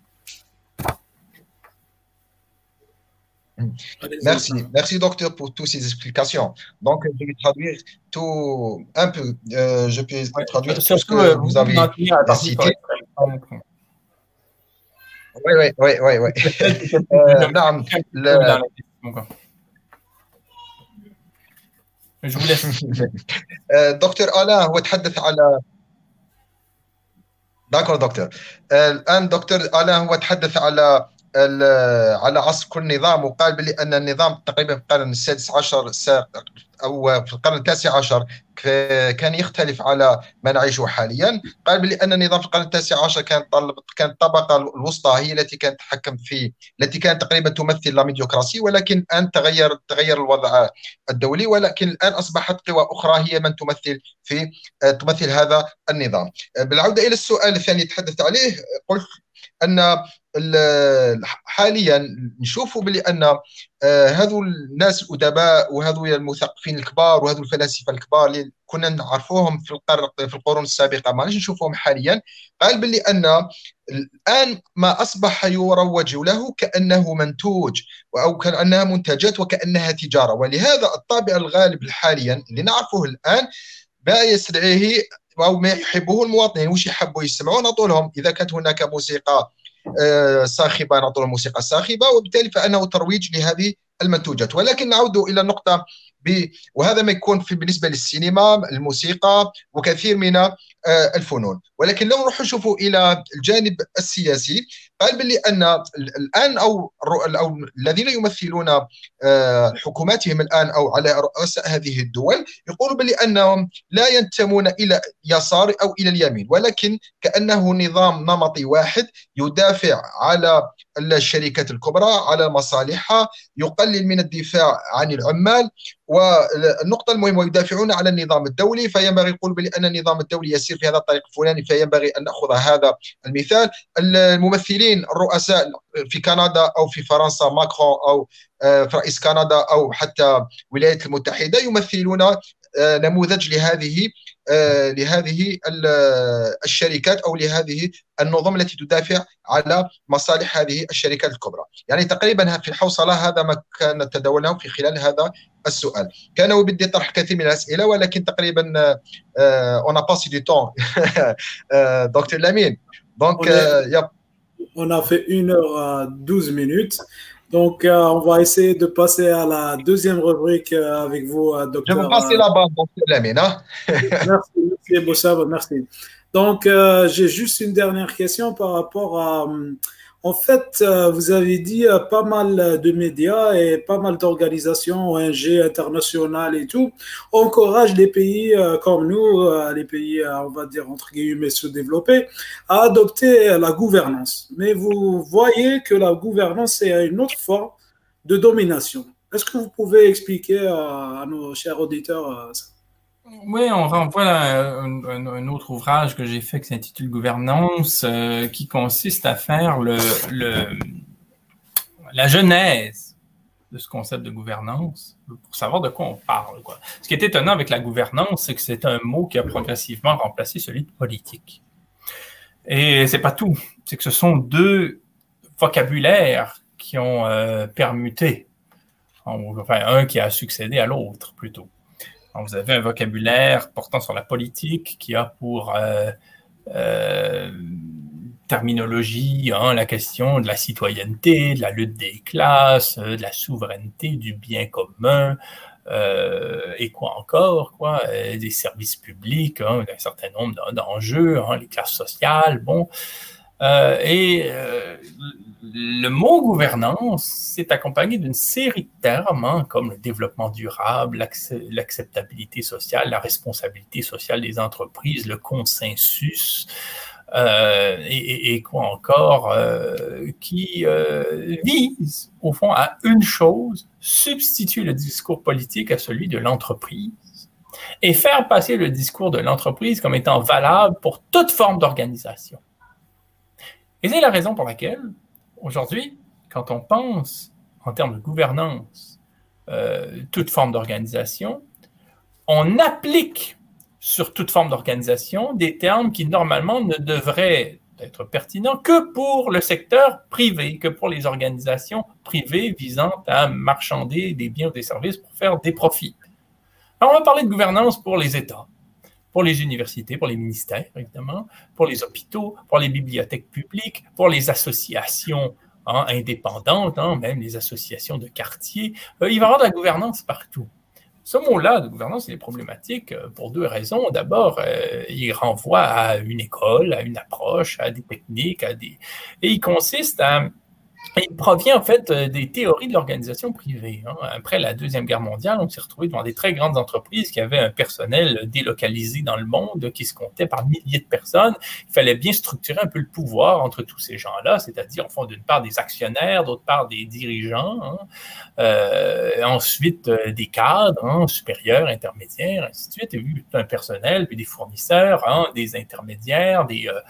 Merci, merci docteur pour toutes ces explications. Donc, je vais traduire tout un peu. Euh, je peux ouais, traduire tout ce que euh, vous, vous avez cité. Oui, oui, oui, oui, oui. Non, le... Je vous laisse. دكتور آلاء هو تحدث على دكتور دكتور الآن دكتور آلاء هو تحدث على على عصر كل نظام، وقال بلي ان النظام تقريبا في القرن السادس عشر او في القرن التاسع عشر كان يختلف على ما نعيشه حاليا. قال بلي ان النظام في القرن التاسع عشر كان كانت الطبقه الوسطى هي التي كانت تتحكم في التي كانت تقريبا تمثل لا ميديوكراسي، ولكن الان تغير تغير الوضع الدولي، ولكن الان اصبحت قوى اخرى هي من تمثل في تمثل هذا النظام. بالعوده الى السؤال الثاني تحدثت عليه، قلت ان حاليا نشوفوا بلي ان هذو الناس الادباء وهذو المثقفين الكبار وهذو الفلاسفه الكبار اللي كنا نعرفوهم في القرن في القرون السابقه ما نشوفوهم حاليا. قال بلي ان الان ما اصبح يروج له كانه منتوج او كانها منتجات وكانها تجاره، ولهذا الطابع الغالب حاليا اللي نعرفه الان ما يستدعيه أو ما يحبه المواطنين. وش يحبوا يسمعون؟ نعطوا لهم إذا كانت هناك موسيقى صاخبة نعطوا لهم موسيقى صاخبة، وبالتالي فإنه ترويج لهذه المنتوجات. ولكن نعود إلى النقطة ب... وهذا ما يكون في بالنسبة للسينما، الموسيقى وكثير من الفنون. ولكن لو نروح نشوفوا إلى الجانب السياسي، قال باللي أن الآن أو, أو الذين يمثلون حكوماتهم الآن أو على رؤساء هذه الدول يقولوا باللي أنهم لا ينتمون إلى يسار أو إلى اليمين، ولكن كأنه نظام نمطي واحد يدافع على الشركات الكبرى على مصالحها، يقلل من الدفاع عن العمال. والنقطة المهمة يدافعون على النظام الدولي، فينبغي يقول بأن النظام الدولي يسير في هذا الطريق الفلاني، فينبغي أن نأخذ هذا المثال. الممثلين الرؤساء في كندا أو في فرنسا ماكرون أو رئيس كندا أو حتى الولايات المتحدة يمثلون نموذج لهذه لهذه الشركات أو لهذه النظم التي تدافع على مصالح هذه الشركات الكبرى. يعني تقريبا في الحوصلة هذا ما كان تداولناه في خلال هذا السؤال. كان ودي طرح كثير من الأسئلة، ولكن تقريبا on a passé du temps. Docteur Lamine. Donc, on, est, euh, on a fait une heure douze minutes. Donc, euh, on va essayer de passer à la deuxième rubrique euh, avec vous, euh, docteur. Je vais passer euh, là-bas, docteur Lamine. Hein? Merci, merci, Boussab, merci. Donc, euh, j'ai juste une dernière question par rapport à... En fait, euh, vous avez dit euh, pas mal de médias et pas mal d'organisations, O N G internationales et tout, encouragent les pays euh, comme nous, euh, les pays, euh, on va dire, entre guillemets, sous-développés, à adopter euh, la gouvernance. Mais vous voyez que la gouvernance, c'est une autre forme de domination. Est-ce que vous pouvez expliquer euh, à nos chers auditeurs euh, ça? Oui, on renvoie à un, un, un autre ouvrage que j'ai fait qui s'intitule Gouvernance, euh, qui consiste à faire le, le, la genèse de ce concept de gouvernance pour savoir de quoi on parle, quoi. Ce qui est étonnant avec la gouvernance, c'est que c'est un mot qui a progressivement remplacé celui de politique. Et c'est pas tout, c'est que ce sont deux vocabulaires qui ont euh, permuté, enfin un qui a succédé à l'autre plutôt. Donc, vous avez un vocabulaire portant sur la politique qui a pour euh, euh, terminologie hein, la question de la citoyenneté, de la lutte des classes, de la souveraineté, du bien commun, euh, et quoi encore, quoi, euh, des services publics, hein, un certain nombre d'enjeux, hein, les classes sociales, bon. Euh, et euh, le mot gouvernance s'est accompagné d'une série de termes hein, comme le développement durable, l'acceptabilité sociale, la responsabilité sociale des entreprises, le consensus euh, et, et quoi encore euh, qui euh, vise au fond à une chose, substituer le discours politique à celui de l'entreprise et faire passer le discours de l'entreprise comme étant valable pour toute forme d'organisation. Et c'est la raison pour laquelle, aujourd'hui, quand on pense en termes de gouvernance, euh, toute forme d'organisation, on applique sur toute forme d'organisation des termes qui, normalement, ne devraient être pertinents que pour le secteur privé, que pour les organisations privées visant à marchander des biens ou des services pour faire des profits. Alors, on va parler de gouvernance pour les États, pour les universités, pour les ministères, évidemment, pour les hôpitaux, pour les bibliothèques publiques, pour les associations hein, indépendantes, hein, même les associations de quartier. Euh, il va y avoir de la gouvernance partout. Ce mot-là de gouvernance, il est problématique pour deux raisons. D'abord, euh, il renvoie à une école, à une approche, à des techniques, à des... et il consiste à... Il provient en fait des théories de l'organisation privée. Après la Deuxième Guerre mondiale, on s'est retrouvé devant des très grandes entreprises qui avaient un personnel délocalisé dans le monde, qui se comptait par milliers de personnes. Il fallait bien structurer un peu le pouvoir entre tous ces gens-là, c'est-à-dire, en fond, d'une part des actionnaires, d'autre part des dirigeants, hein. euh, ensuite euh, des cadres hein, supérieurs, intermédiaires, ainsi de suite, et puis un personnel, puis des fournisseurs, hein, des intermédiaires, des... Euh,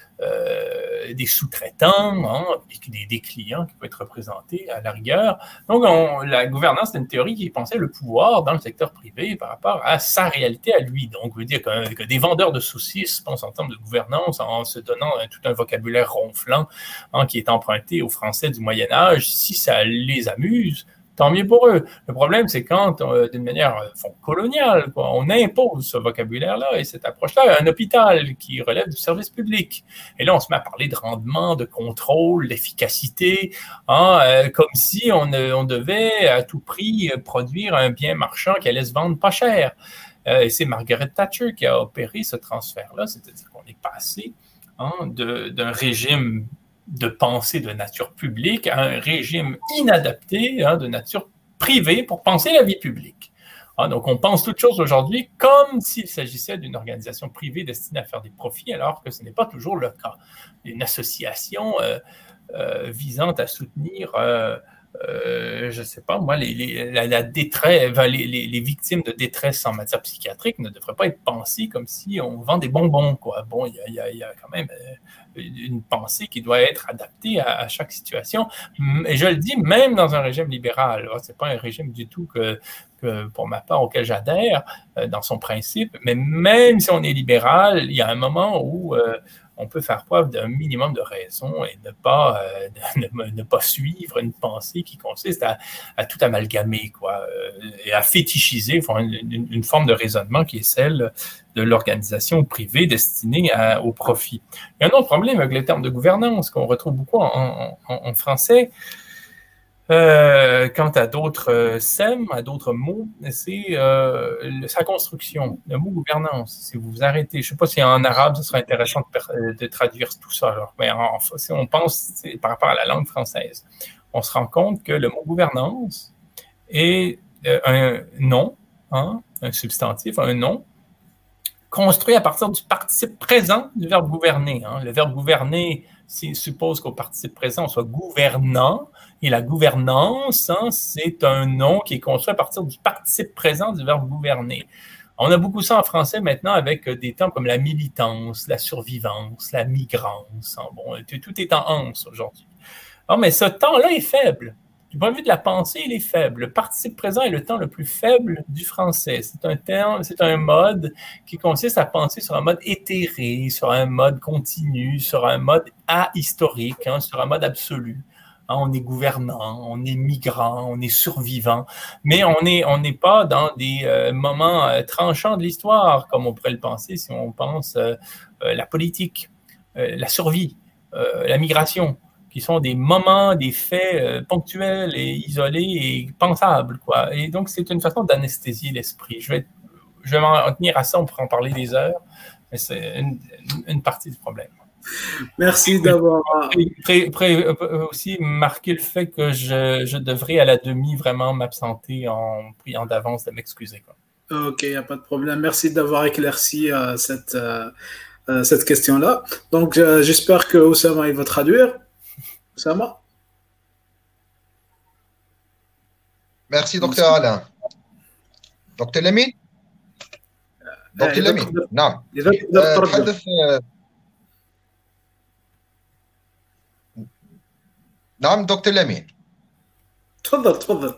Euh, des sous-traitants, hein, des, des clients qui peuvent être représentés à la rigueur. Donc, on, la gouvernance, c'est une théorie qui pensait le pouvoir dans le secteur privé par rapport à sa réalité à lui. Donc, veut dire que, que des vendeurs de saucisses pensent en termes de gouvernance en se donnant un, tout un vocabulaire ronflant hein, qui est emprunté aux Français du Moyen-Âge. Si ça les amuse, tant mieux pour eux. Le problème, c'est quand, euh, d'une manière euh, coloniale, quoi, on impose ce vocabulaire-là et cette approche-là à un hôpital qui relève du service public. Et là, on se met à parler de rendement, de contrôle, d'efficacité, hein, euh, comme si on, euh, on devait à tout prix produire un bien marchand qui allait se vendre pas cher. Euh, et c'est Margaret Thatcher qui a opéré ce transfert-là, c'est-à-dire qu'on est passé hein, de, d'un régime de pensée de nature publique à un régime inadapté hein, de nature privée pour penser la vie publique. Ah, donc, on pense toutes choses aujourd'hui comme s'il s'agissait d'une organisation privée destinée à faire des profits, alors que ce n'est pas toujours le cas. Une association euh, euh, visant à soutenir, euh, euh, je ne sais pas moi, les, les, la, la détresse, les, les, les victimes de détresse en matière psychiatrique ne devraient pas être pensées comme si on vend des bonbons, quoi. Bon, il y, y, y a quand même euh, une pensée qui doit être adaptée à, à chaque situation. Et je le dis, même dans un régime libéral, ce n'est pas un régime du tout que, que, pour ma part, auquel j'adhère euh, dans son principe, mais même si on est libéral, il y a un moment où euh, on peut faire preuve d'un minimum de raison et ne pas, euh, ne, ne pas suivre une pensée qui consiste à, à tout amalgamer, quoi, euh, et à fétichiser enfin, une, une, une forme de raisonnement qui est celle de l'organisation privée destinée à, au profit. Il y a un autre problème avec les termes de gouvernance qu'on retrouve beaucoup en, en, en français. Euh, quant à d'autres euh, sèmes, à d'autres mots, c'est euh, le, sa construction, le mot gouvernance. Si vous vous arrêtez, je ne sais pas si en arabe, ce serait intéressant de, de traduire tout ça. Alors, mais en, si on pense par rapport à la langue française, on se rend compte que le mot gouvernance est euh, un nom, hein, un substantif, un nom, construit à partir du participe présent du verbe gouverner. Hein. Le verbe gouverner suppose qu'au participe présent, on soit gouvernant, et la gouvernance, hein, c'est un nom qui est construit à partir du participe présent du verbe gouverner. On a beaucoup ça en français maintenant avec des termes comme la militance, la survivance, la migrance. Bon, tout est en anse aujourd'hui. Non, mais ce temps-là est faible. Du point de vue de la pensée, il est faible. Le participe présent est le temps le plus faible du français. C'est un terme, c'est un mode qui consiste à penser sur un mode éthéré, sur un mode continu, sur un mode ahistorique, hein, sur un mode absolu. Hein, on est gouvernant, on est migrant, on est survivant, mais on n'est on n'est pas dans des euh, moments euh, tranchants de l'histoire, comme on pourrait le penser si on pense euh, euh, la politique, euh, la survie, euh, la migration, qui sont des moments, des faits euh, ponctuels et isolés et pensables, quoi. Et donc, c'est une façon d'anesthésier l'esprit. Je vais, je vais m'en tenir à ça, on pourra en parler des heures, mais c'est une, une partie du problème. Merci d'avoir... Pré, pré, aussi marquer le fait que je, je devrais à la demi vraiment m'absenter en priant d'avance de m'excuser, quoi. Ok, il n'y a pas de problème. Merci d'avoir éclairci euh, cette, euh, cette question-là. Donc, euh, j'espère que Oussama, il va traduire. Oussama? Merci, docteur Alain. docteur Lamine? docteur Lamine، نعم. تحدث نعم دكتور لمين. تفضل تفضل.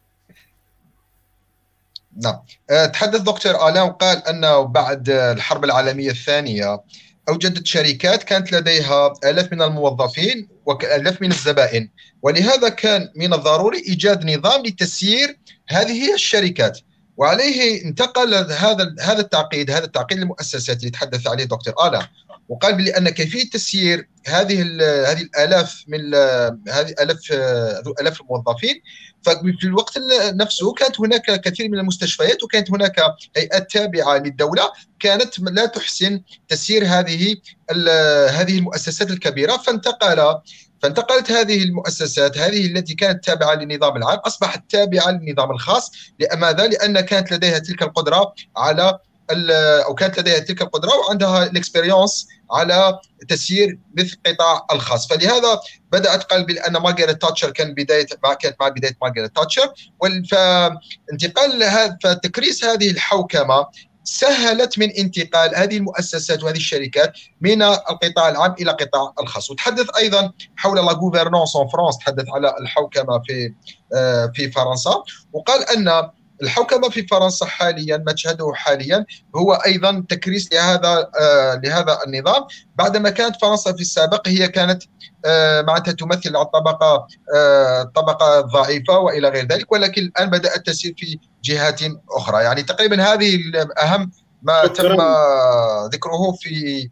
نعم، تحدث دكتور آلان وقال أنه بعد الحرب العالمية الثانية أوجدت شركات كانت لديها آلاف من الموظفين وآلاف من الزبائن، ولهذا كان من الضروري إيجاد نظام لتسيير هذه الشركات، وعليه انتقل هذا هذا التعقيد هذا التعقيد للمؤسسات اللي تحدث عليه دكتور آلان، وقال بأن كيفية تسيير هذه هذه الآلاف من هذه آلاف آلاف الموظفين، ففي الوقت نفسه كانت هناك كثير من المستشفيات وكانت هناك هيئات تابعة للدولة كانت لا تحسن تسيير هذه هذه المؤسسات الكبيرة، فانتقل فانتقلت هذه المؤسسات هذه التي كانت تابعة للنظام العام أصبحت تابعة للنظام الخاص. لماذا؟ لأن كانت لديها تلك القدرة على أو كانت لديها تلك القدرة وعندها الاكسبيريونس على تسيير مثل القطاع الخاص. فلهذا بدأت قال بأن مارغريت تاتشر كان بداية كانت مع بداية مارغريت تاتشر، فانتقال هذا فتكريس هذه الحوكمة سهلت من انتقال هذه المؤسسات وهذه الشركات من القطاع العام إلى القطاع الخاص. وتحدث أيضا حول لا غوفرنانس ان فرانس، تحدث على الحوكمة في في فرنسا، وقال أن الحوكمة في فرنسا حاليا ما تشهده حاليا هو أيضا تكريس لهذا آه لهذا النظام، بعدما كانت فرنسا في السابق هي كانت آه معناتها تمثل الطبقة آه الطبقة الضعيفة وإلى غير ذلك، ولكن الآن بدأت تسير في جهات أخرى. يعني تقريبا هذه أهم ما تم ذكره في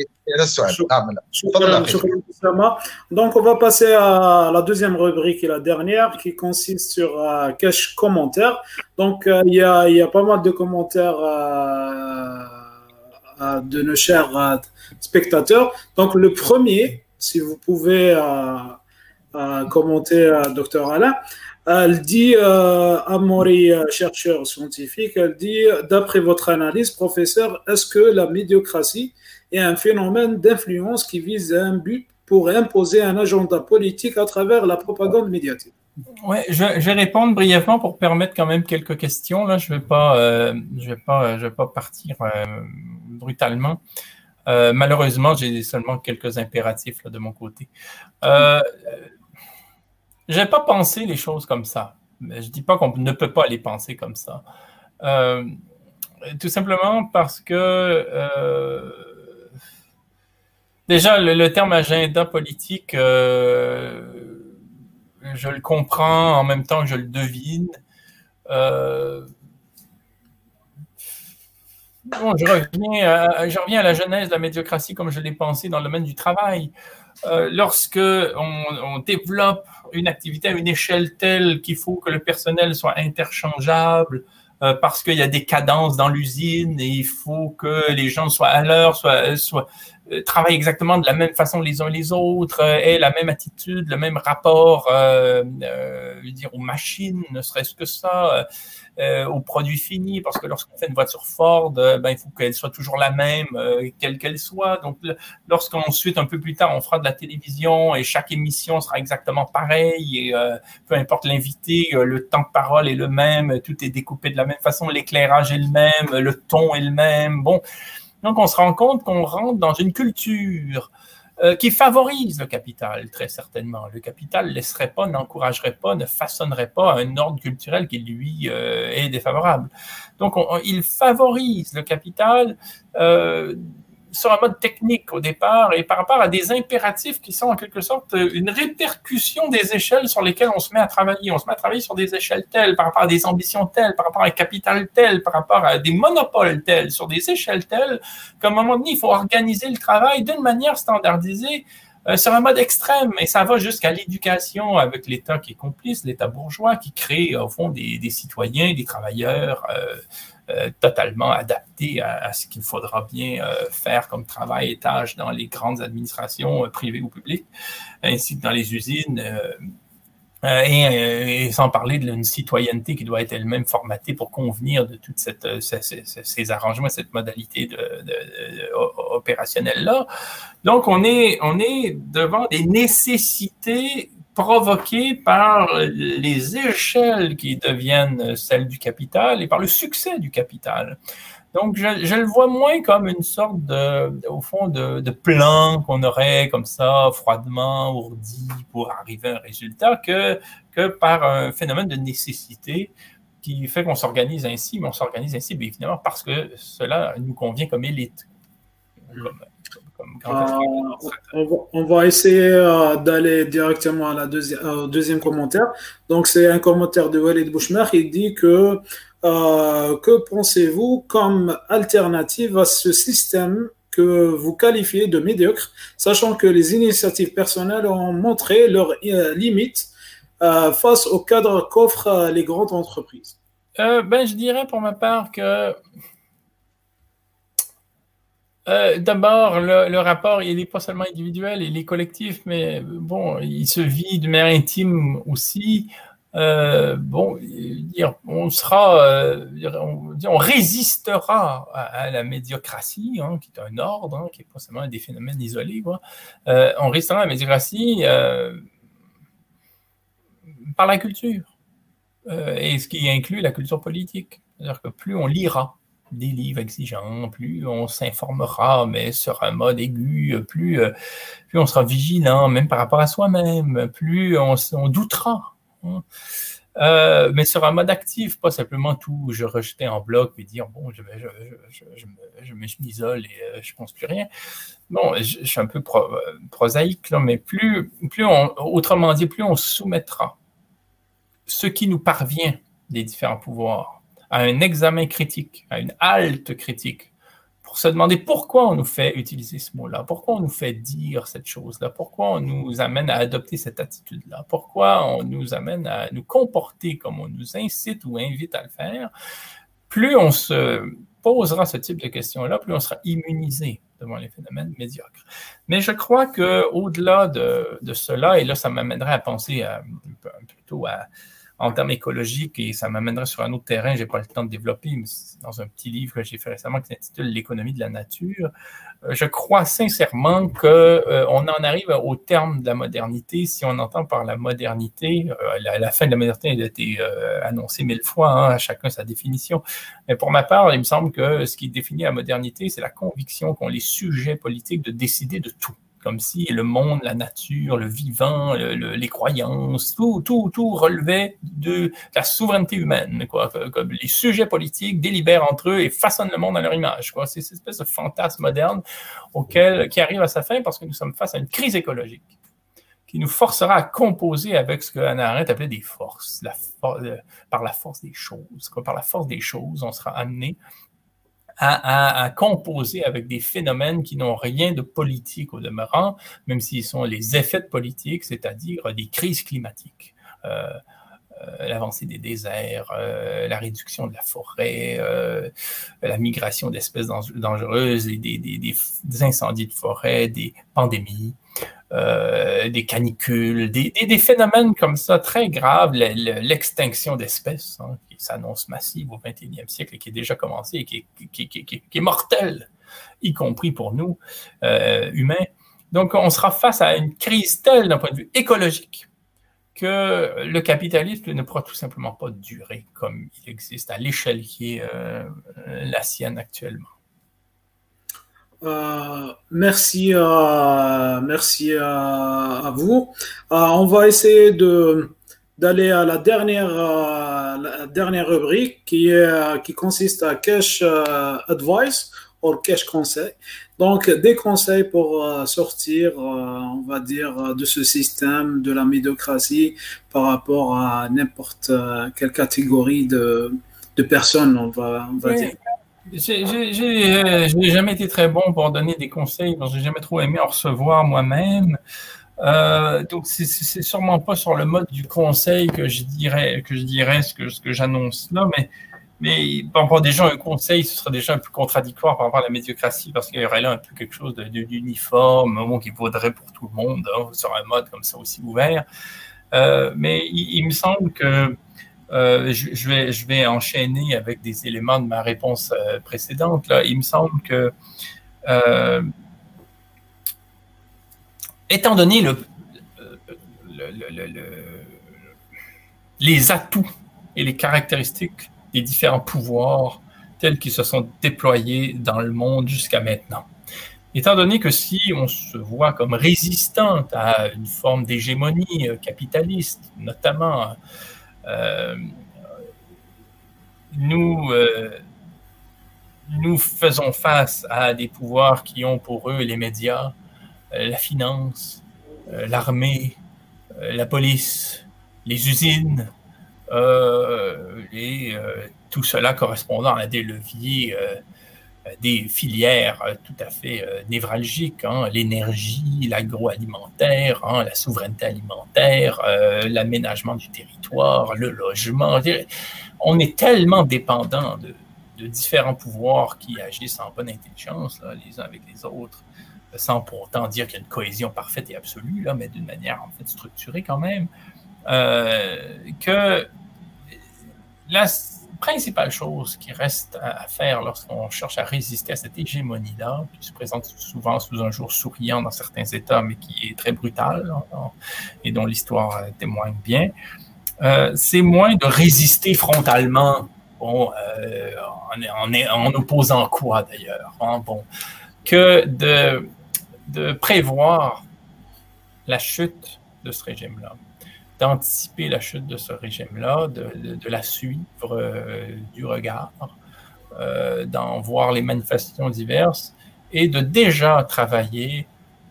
Donc, on va passer à la deuxième rubrique et la dernière qui consiste sur euh, quelques commentaires. Donc, euh, il y a, il y a pas mal de commentaires euh, euh, de nos chers euh, spectateurs. Donc, le premier, si vous pouvez euh, euh, commenter, euh, docteur Alain, elle dit, euh, Amaury, chercheur scientifique, elle dit, d'après votre analyse, professeur, est-ce que la médiocratie est un phénomène d'influence qui vise un but pour imposer un agenda politique à travers la propagande médiatique? Oui, je, je vais répondre brièvement pour permettre quand même quelques questions. Là, je ne vais pas, euh, je vais pas, je vais pas partir euh, brutalement. Euh, malheureusement, j'ai seulement quelques impératifs là, de mon côté. Euh, je n'ai pas pensé les choses comme ça. Je ne dis pas qu'on ne peut pas les penser comme ça. Euh, tout simplement parce que euh, déjà, le, le terme agenda politique, euh, je le comprends en même temps que je le devine. Euh, bon, je, reviens à, je reviens à la genèse de la médiocratie comme je l'ai pensé dans le domaine du travail. Euh, lorsque on, on développe une activité à une échelle telle qu'il faut que le personnel soit interchangeable, euh, parce qu'il y a des cadences dans l'usine et il faut que les gens soient à l'heure, soient, soient euh, travaillent exactement de la même façon les uns les autres, euh, aient la même attitude, le même rapport euh, euh, je veux dire, aux machines, ne serait-ce que ça, euh, aux produits finis, parce que lorsqu'on fait une voiture Ford, euh, ben, il faut qu'elle soit toujours la même, euh, quelle qu'elle soit. Donc, lorsqu'ensuite, un peu plus tard, on fera de la télévision et chaque émission sera exactement pareille, et euh, peu importe l'invité, euh, le temps de parole est le même, tout est découpé de la même façon, l'éclairage est le même, le ton est le même. Bon, donc on se rend compte qu'on rentre dans une culture euh, qui favorise le capital, très certainement. Le capital ne laisserait pas, n'encouragerait pas, ne façonnerait pas un ordre culturel qui, lui, euh, est défavorable. Donc, on, on, il favorise le capital euh, sur un mode technique au départ et par rapport à des impératifs qui sont en quelque sorte une répercussion des échelles sur lesquelles on se met à travailler. On se met à travailler sur des échelles telles, par rapport à des ambitions telles, par rapport à un capital tel, par rapport à des monopoles tels, sur des échelles telles, qu'à un moment donné, il faut organiser le travail d'une manière standardisée euh, sur un mode extrême. Et ça va jusqu'à l'éducation avec l'État qui est complice, l'État bourgeois qui crée au fond des, des citoyens, des travailleurs euh, Euh, totalement adapté à, à ce qu'il faudra bien euh, faire comme travail et tâches dans les grandes administrations euh, privées ou publiques, ainsi que dans les usines, euh, euh, et, et sans parler d'une citoyenneté qui doit être elle-même formatée pour convenir de toutes cette, ces, ces, ces arrangements, cette modalité de, de, de, opérationnelle-là. Donc, on est, on est devant des nécessités provoquées par les échelles qui deviennent celles du capital et par le succès du capital. Donc, je, je le vois moins comme une sorte de, au fond, de, de plan qu'on aurait comme ça, froidement ourdi pour arriver à un résultat, que, que par un phénomène de nécessité qui fait qu'on s'organise ainsi, mais on s'organise ainsi, bien évidemment, parce que cela nous convient comme élite. Comme, comme euh, on, va, on va essayer euh, d'aller directement à la deuxi- au deuxième commentaire. Donc, c'est un commentaire de Walid Bouchmer qui dit que euh, que pensez-vous comme alternative à ce système que vous qualifiez de médiocre, sachant que les initiatives personnelles ont montré leurs euh, limites euh, face au cadre qu'offrent euh, les grandes entreprises? Euh, ben, je dirais pour ma part que Euh, d'abord, le, le rapport, il n'est pas seulement individuel, il est collectif, mais bon, il se vit de manière intime aussi. Euh, bon, dire, on sera, euh, on, on résistera à, à la médiocratie, hein, qui est un ordre, hein, qui n'est pas seulement des phénomènes isolés, quoi. Euh, on résistera à la médiocratie euh, par la culture, euh, et ce qui inclut la culture politique. C'est-à-dire que plus on lira des livres exigeants, plus on s'informera, mais sur un mode aigu, plus, plus on sera vigilant, même par rapport à soi-même, plus on, on doutera. Hein. Euh, mais sur un mode actif, pas simplement tout je rejeter en bloc et dire bon, je, je, je, je, je, je m'isole et euh, je pense plus rien. Bon, je, je suis un peu pro, prosaïque, là, mais plus, plus on, autrement dit, plus on soumettra ce qui nous parvient des différents pouvoirs à un examen critique, à une halte critique, pour se demander pourquoi on nous fait utiliser ce mot-là, pourquoi on nous fait dire cette chose-là, pourquoi on nous amène à adopter cette attitude-là, pourquoi on nous amène à nous comporter comme on nous incite ou invite à le faire. Plus on se posera ce type de questions-là, plus on sera immunisé devant les phénomènes médiocres. Mais je crois qu'au-delà de, de cela, et là, ça m'amènerait à penser à, plutôt à en termes écologiques, et ça m'amènerait sur un autre terrain, je n'ai pas le temps de développer, mais c'est dans un petit livre que j'ai fait récemment qui s'intitule « L'économie de la nature ». Je crois sincèrement qu'on euh, en arrive au terme de la modernité. Si on entend par la modernité, euh, la, la fin de la modernité a été euh, annoncée mille fois, hein, à chacun sa définition. Mais pour ma part, il me semble que ce qui définit la modernité, c'est la conviction qu'ont les sujets politiques de décider de tout. Comme si le monde, la nature, le vivant, le, le, les croyances, tout, tout, tout relevait de la souveraineté humaine, quoi. Comme les sujets politiques délibèrent entre eux et façonnent le monde à leur image, quoi. C'est cette espèce de fantasme moderne auquel, qui arrive à sa fin parce que nous sommes face à une crise écologique qui nous forcera à composer avec ce que Hannah Arendt appelait des forces, la for- par la force des choses, quoi. Par la force des choses, on sera amené À, à, à composer avec des phénomènes qui n'ont rien de politique au demeurant, même s'ils sont les effets de politique, c'est-à-dire des crises climatiques. Euh, euh, l'avancée des déserts, euh, la réduction de la forêt, euh, la migration d'espèces dangereuses, des, des, des, des incendies de forêt, des pandémies, euh, des canicules, des, des, des phénomènes comme ça très graves, l'extinction d'espèces hein, qui s'annonce massive au vingt et unième siècle et qui est déjà commencée et qui est, qui, qui, qui, qui est mortelle, y compris pour nous, euh, humains. Donc, on sera face à une crise telle d'un point de vue écologique que le capitalisme ne pourra tout simplement pas durer comme il existe à l'échelle qui est euh, la sienne actuellement. Euh, merci, euh, merci à, à vous. Euh, on va essayer de d'aller à la dernière, euh, la dernière rubrique qui est qui consiste à cash euh, advice ou cash conseil. Donc des conseils pour euh, sortir, euh, on va dire, de ce système de la médiocratie par rapport à n'importe quelle catégorie de de personnes, on va on va oui. dire. J'ai, j'ai, j'ai, euh, j'ai jamais été très bon pour donner des conseils, parce que j'ai jamais trop aimé en recevoir moi-même. Euh, donc c'est, c'est sûrement pas sur le mode du conseil que je dirais que je dirais ce que ce que j'annonce là, mais mais par rapport déjà un conseil, ce serait déjà un peu contradictoire par rapport à la médiocratie, parce qu'il y aurait là un peu quelque chose de, de, d'uniforme, un mot qui vaudrait pour tout le monde hein, sur un mode comme ça aussi ouvert. Euh, mais il, il me semble que Euh, je, je, vais, je vais enchaîner avec des éléments de ma réponse euh, précédente. Là. Il me semble que, euh, étant donné le, le, le, le, le, les atouts et les caractéristiques des différents pouvoirs tels qu'ils se sont déployés dans le monde jusqu'à maintenant, étant donné que si on se voit comme résistant à une forme d'hégémonie capitaliste, notamment Euh, nous, euh, nous faisons face à des pouvoirs qui ont pour eux les médias, euh, la finance, euh, l'armée, euh, la police, les usines, euh, et euh, tout cela correspondant à des leviers, euh, des filières tout à fait euh, névralgiques, hein, l'énergie, l'agroalimentaire, hein, la souveraineté alimentaire, euh, l'aménagement du territoire, le logement. On est tellement dépendant de, de différents pouvoirs qui agissent en bonne intelligence, là, les uns avec les autres, sans pour autant dire qu'il y a une cohésion parfaite et absolue, là, mais d'une manière en fait structurée quand même, euh, que la principale chose qui reste à faire lorsqu'on cherche à résister à cette hégémonie-là, qui se présente souvent sous un jour souriant dans certains États, mais qui est très brutale hein, et dont l'histoire témoigne bien, euh, c'est moins de résister frontalement, bon, euh, en, en, en opposant quoi d'ailleurs, hein, bon, que de, de prévoir la chute de ce régime-là, d'anticiper la chute de ce régime-là, de, de, de la suivre euh, du regard, euh, d'en voir les manifestations diverses et de déjà travailler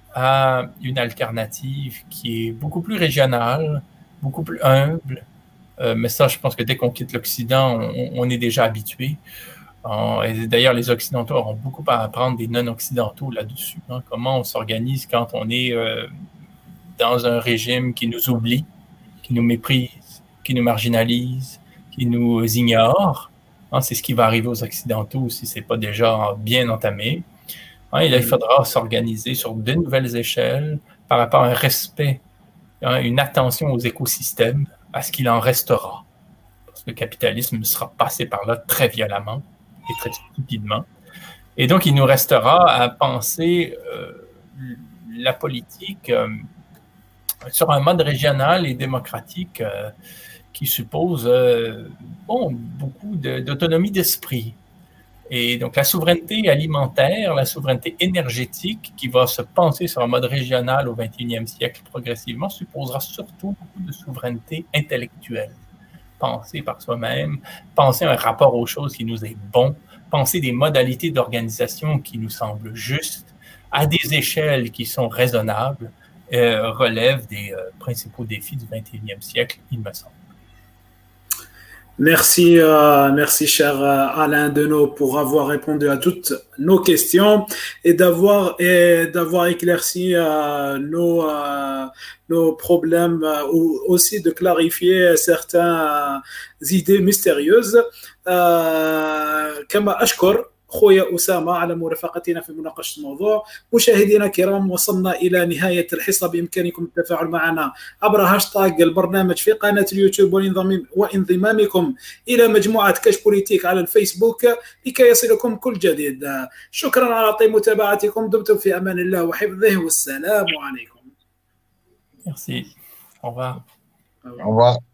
à une alternative qui est beaucoup plus régionale, beaucoup plus humble. Euh, mais ça, je pense que dès qu'on quitte l'Occident, on, on est déjà habitué. Euh, et d'ailleurs, les Occidentaux auront beaucoup à apprendre des non-Occidentaux là-dessus. Hein, comment on s'organise quand on est euh, dans un régime qui nous oublie, qui nous méprise, qui nous marginalise, qui nous ignore. Hein, c'est ce qui va arriver aux Occidentaux si ce n'est pas déjà bien entamé. Hein, et là, il faudra s'organiser sur de nouvelles échelles par rapport à un respect, hein, une attention aux écosystèmes, à ce qu'il en restera. Parce que le capitalisme sera passé par là très violemment et très stupidement. Et donc, il nous restera à penser euh, la politique euh, sur un mode régional et démocratique euh, qui suppose euh, bon, beaucoup de, d'autonomie d'esprit. Et donc la souveraineté alimentaire, la souveraineté énergétique qui va se penser sur un mode régional au vingt et unième siècle progressivement supposera surtout beaucoup de souveraineté intellectuelle. Penser par soi-même, penser un rapport aux choses qui nous est bon, penser des modalités d'organisation qui nous semblent justes, à des échelles qui sont raisonnables, Euh, relève des euh, principaux défis du vingt et unième siècle, il me semble. Merci, euh, merci cher Alain Deneau pour avoir répondu à toutes nos questions et d'avoir et d'avoir éclairci euh, nos euh, nos problèmes euh, ou aussi de clarifier certaines euh, idées mystérieuses. euh, كما أشكر خويا أسامة على مرافقتنا في مناقشة الموضوع. مشاهدينا الكرام، وصلنا إلى نهاية الحصة. بإمكانكم التفاعل معنا عبر هاشتاغ البرنامج في قناة اليوتيوب وانضمامكم إلى مجموعة كاش بوليتيك على الفيسبوك لكي يصلكم كل جديد. شكرا على طيب متابعتكم. دمتم في أمان الله وحفظه، والسلام عليكم. Merci. Au revoir. Au revoir.